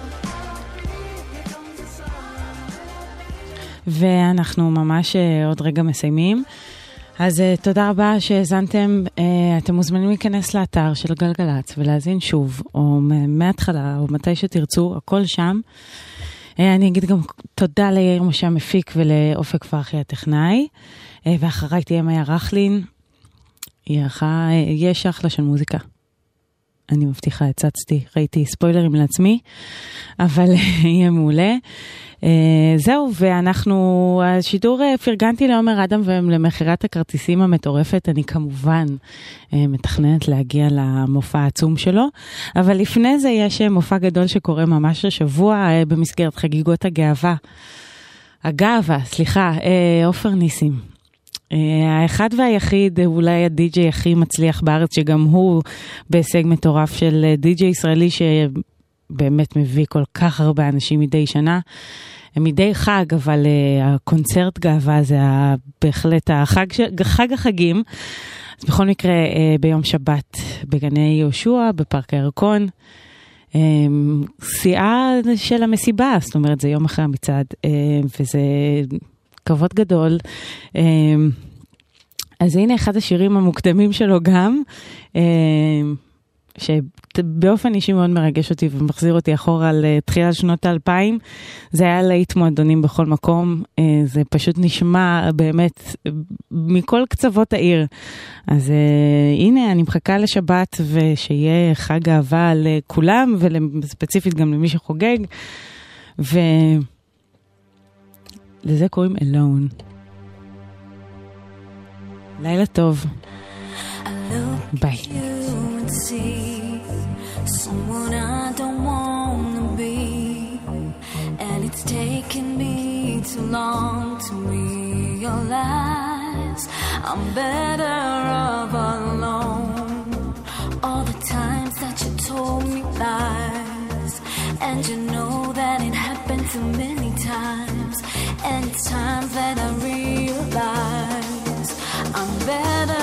ואנחנו ממש אה, עוד רגע מסיימים. אז אה, תודה רבה שהזנתם. אה, אתם מוזמנים להיכנס לאתר של גלגלץ ולהזין שוב, או מ- מההתחלה, או מתי שתרצו, הכל שם. אה, אני אגיד גם תודה ליאיר משה המפיק ולאופק פרחי הטכנאי. אה, ואחריי תהיה מאיה רכלין. היא ערכה, אה, יש אחלה של מוזיקה. אני מבטיחה, הצצתי, ראיתי ספוילרים לעצמי, אבל יהיה מעולה. זהו, ואנחנו, השידור פרגנתי לעומר אדם ולמחירת הכרטיסים המטורפת, אני כמובן מתכננת להגיע למופע העצום שלו, אבל לפני זה יש מופע גדול שקורה ממש השבוע במסגרת חגיגות הגאווה. הגאווה, סליחה, עופר ניסים. האחד והיחיד, אולי הדי-ג'יי הכי מצליח בארץ, שגם הוא בהישג מטורף של די-ג'יי ישראלי שבאמת מביא כל כך הרבה אנשים מדי שנה, מדי חג, אבל הקונצרט גאווה זה בהחלט החג, חג החגים. אז בכל מקרה ביום שבת בגני יהושע, בפארק הירקון, שיאה של המסיבה, זאת אומרת זה יום אחרי המצעד, וזה כבוד גדול. אז הנה אחד השירים המוקדמים שלו גם, שבאופן אישי מאוד מרגש אותי ומחזיר אותי אחורה לתחילת שנות האלפיים. זה היה להיט מועדונים בכל מקום, זה פשוט נשמע באמת מכל קצוות העיר. אז הנה אני מחכה לשבת ושיהיה חג אהבה לכולם וספציפית גם למי שחוגג, ו... לזה קוראים Alone. לילה טוב. ביי. Someone I don't wanna be, and it's taken me too long to realize I'm better off alone. All the times that you told me lies, and you know that it happened too many times, and it's times that I realize I'm better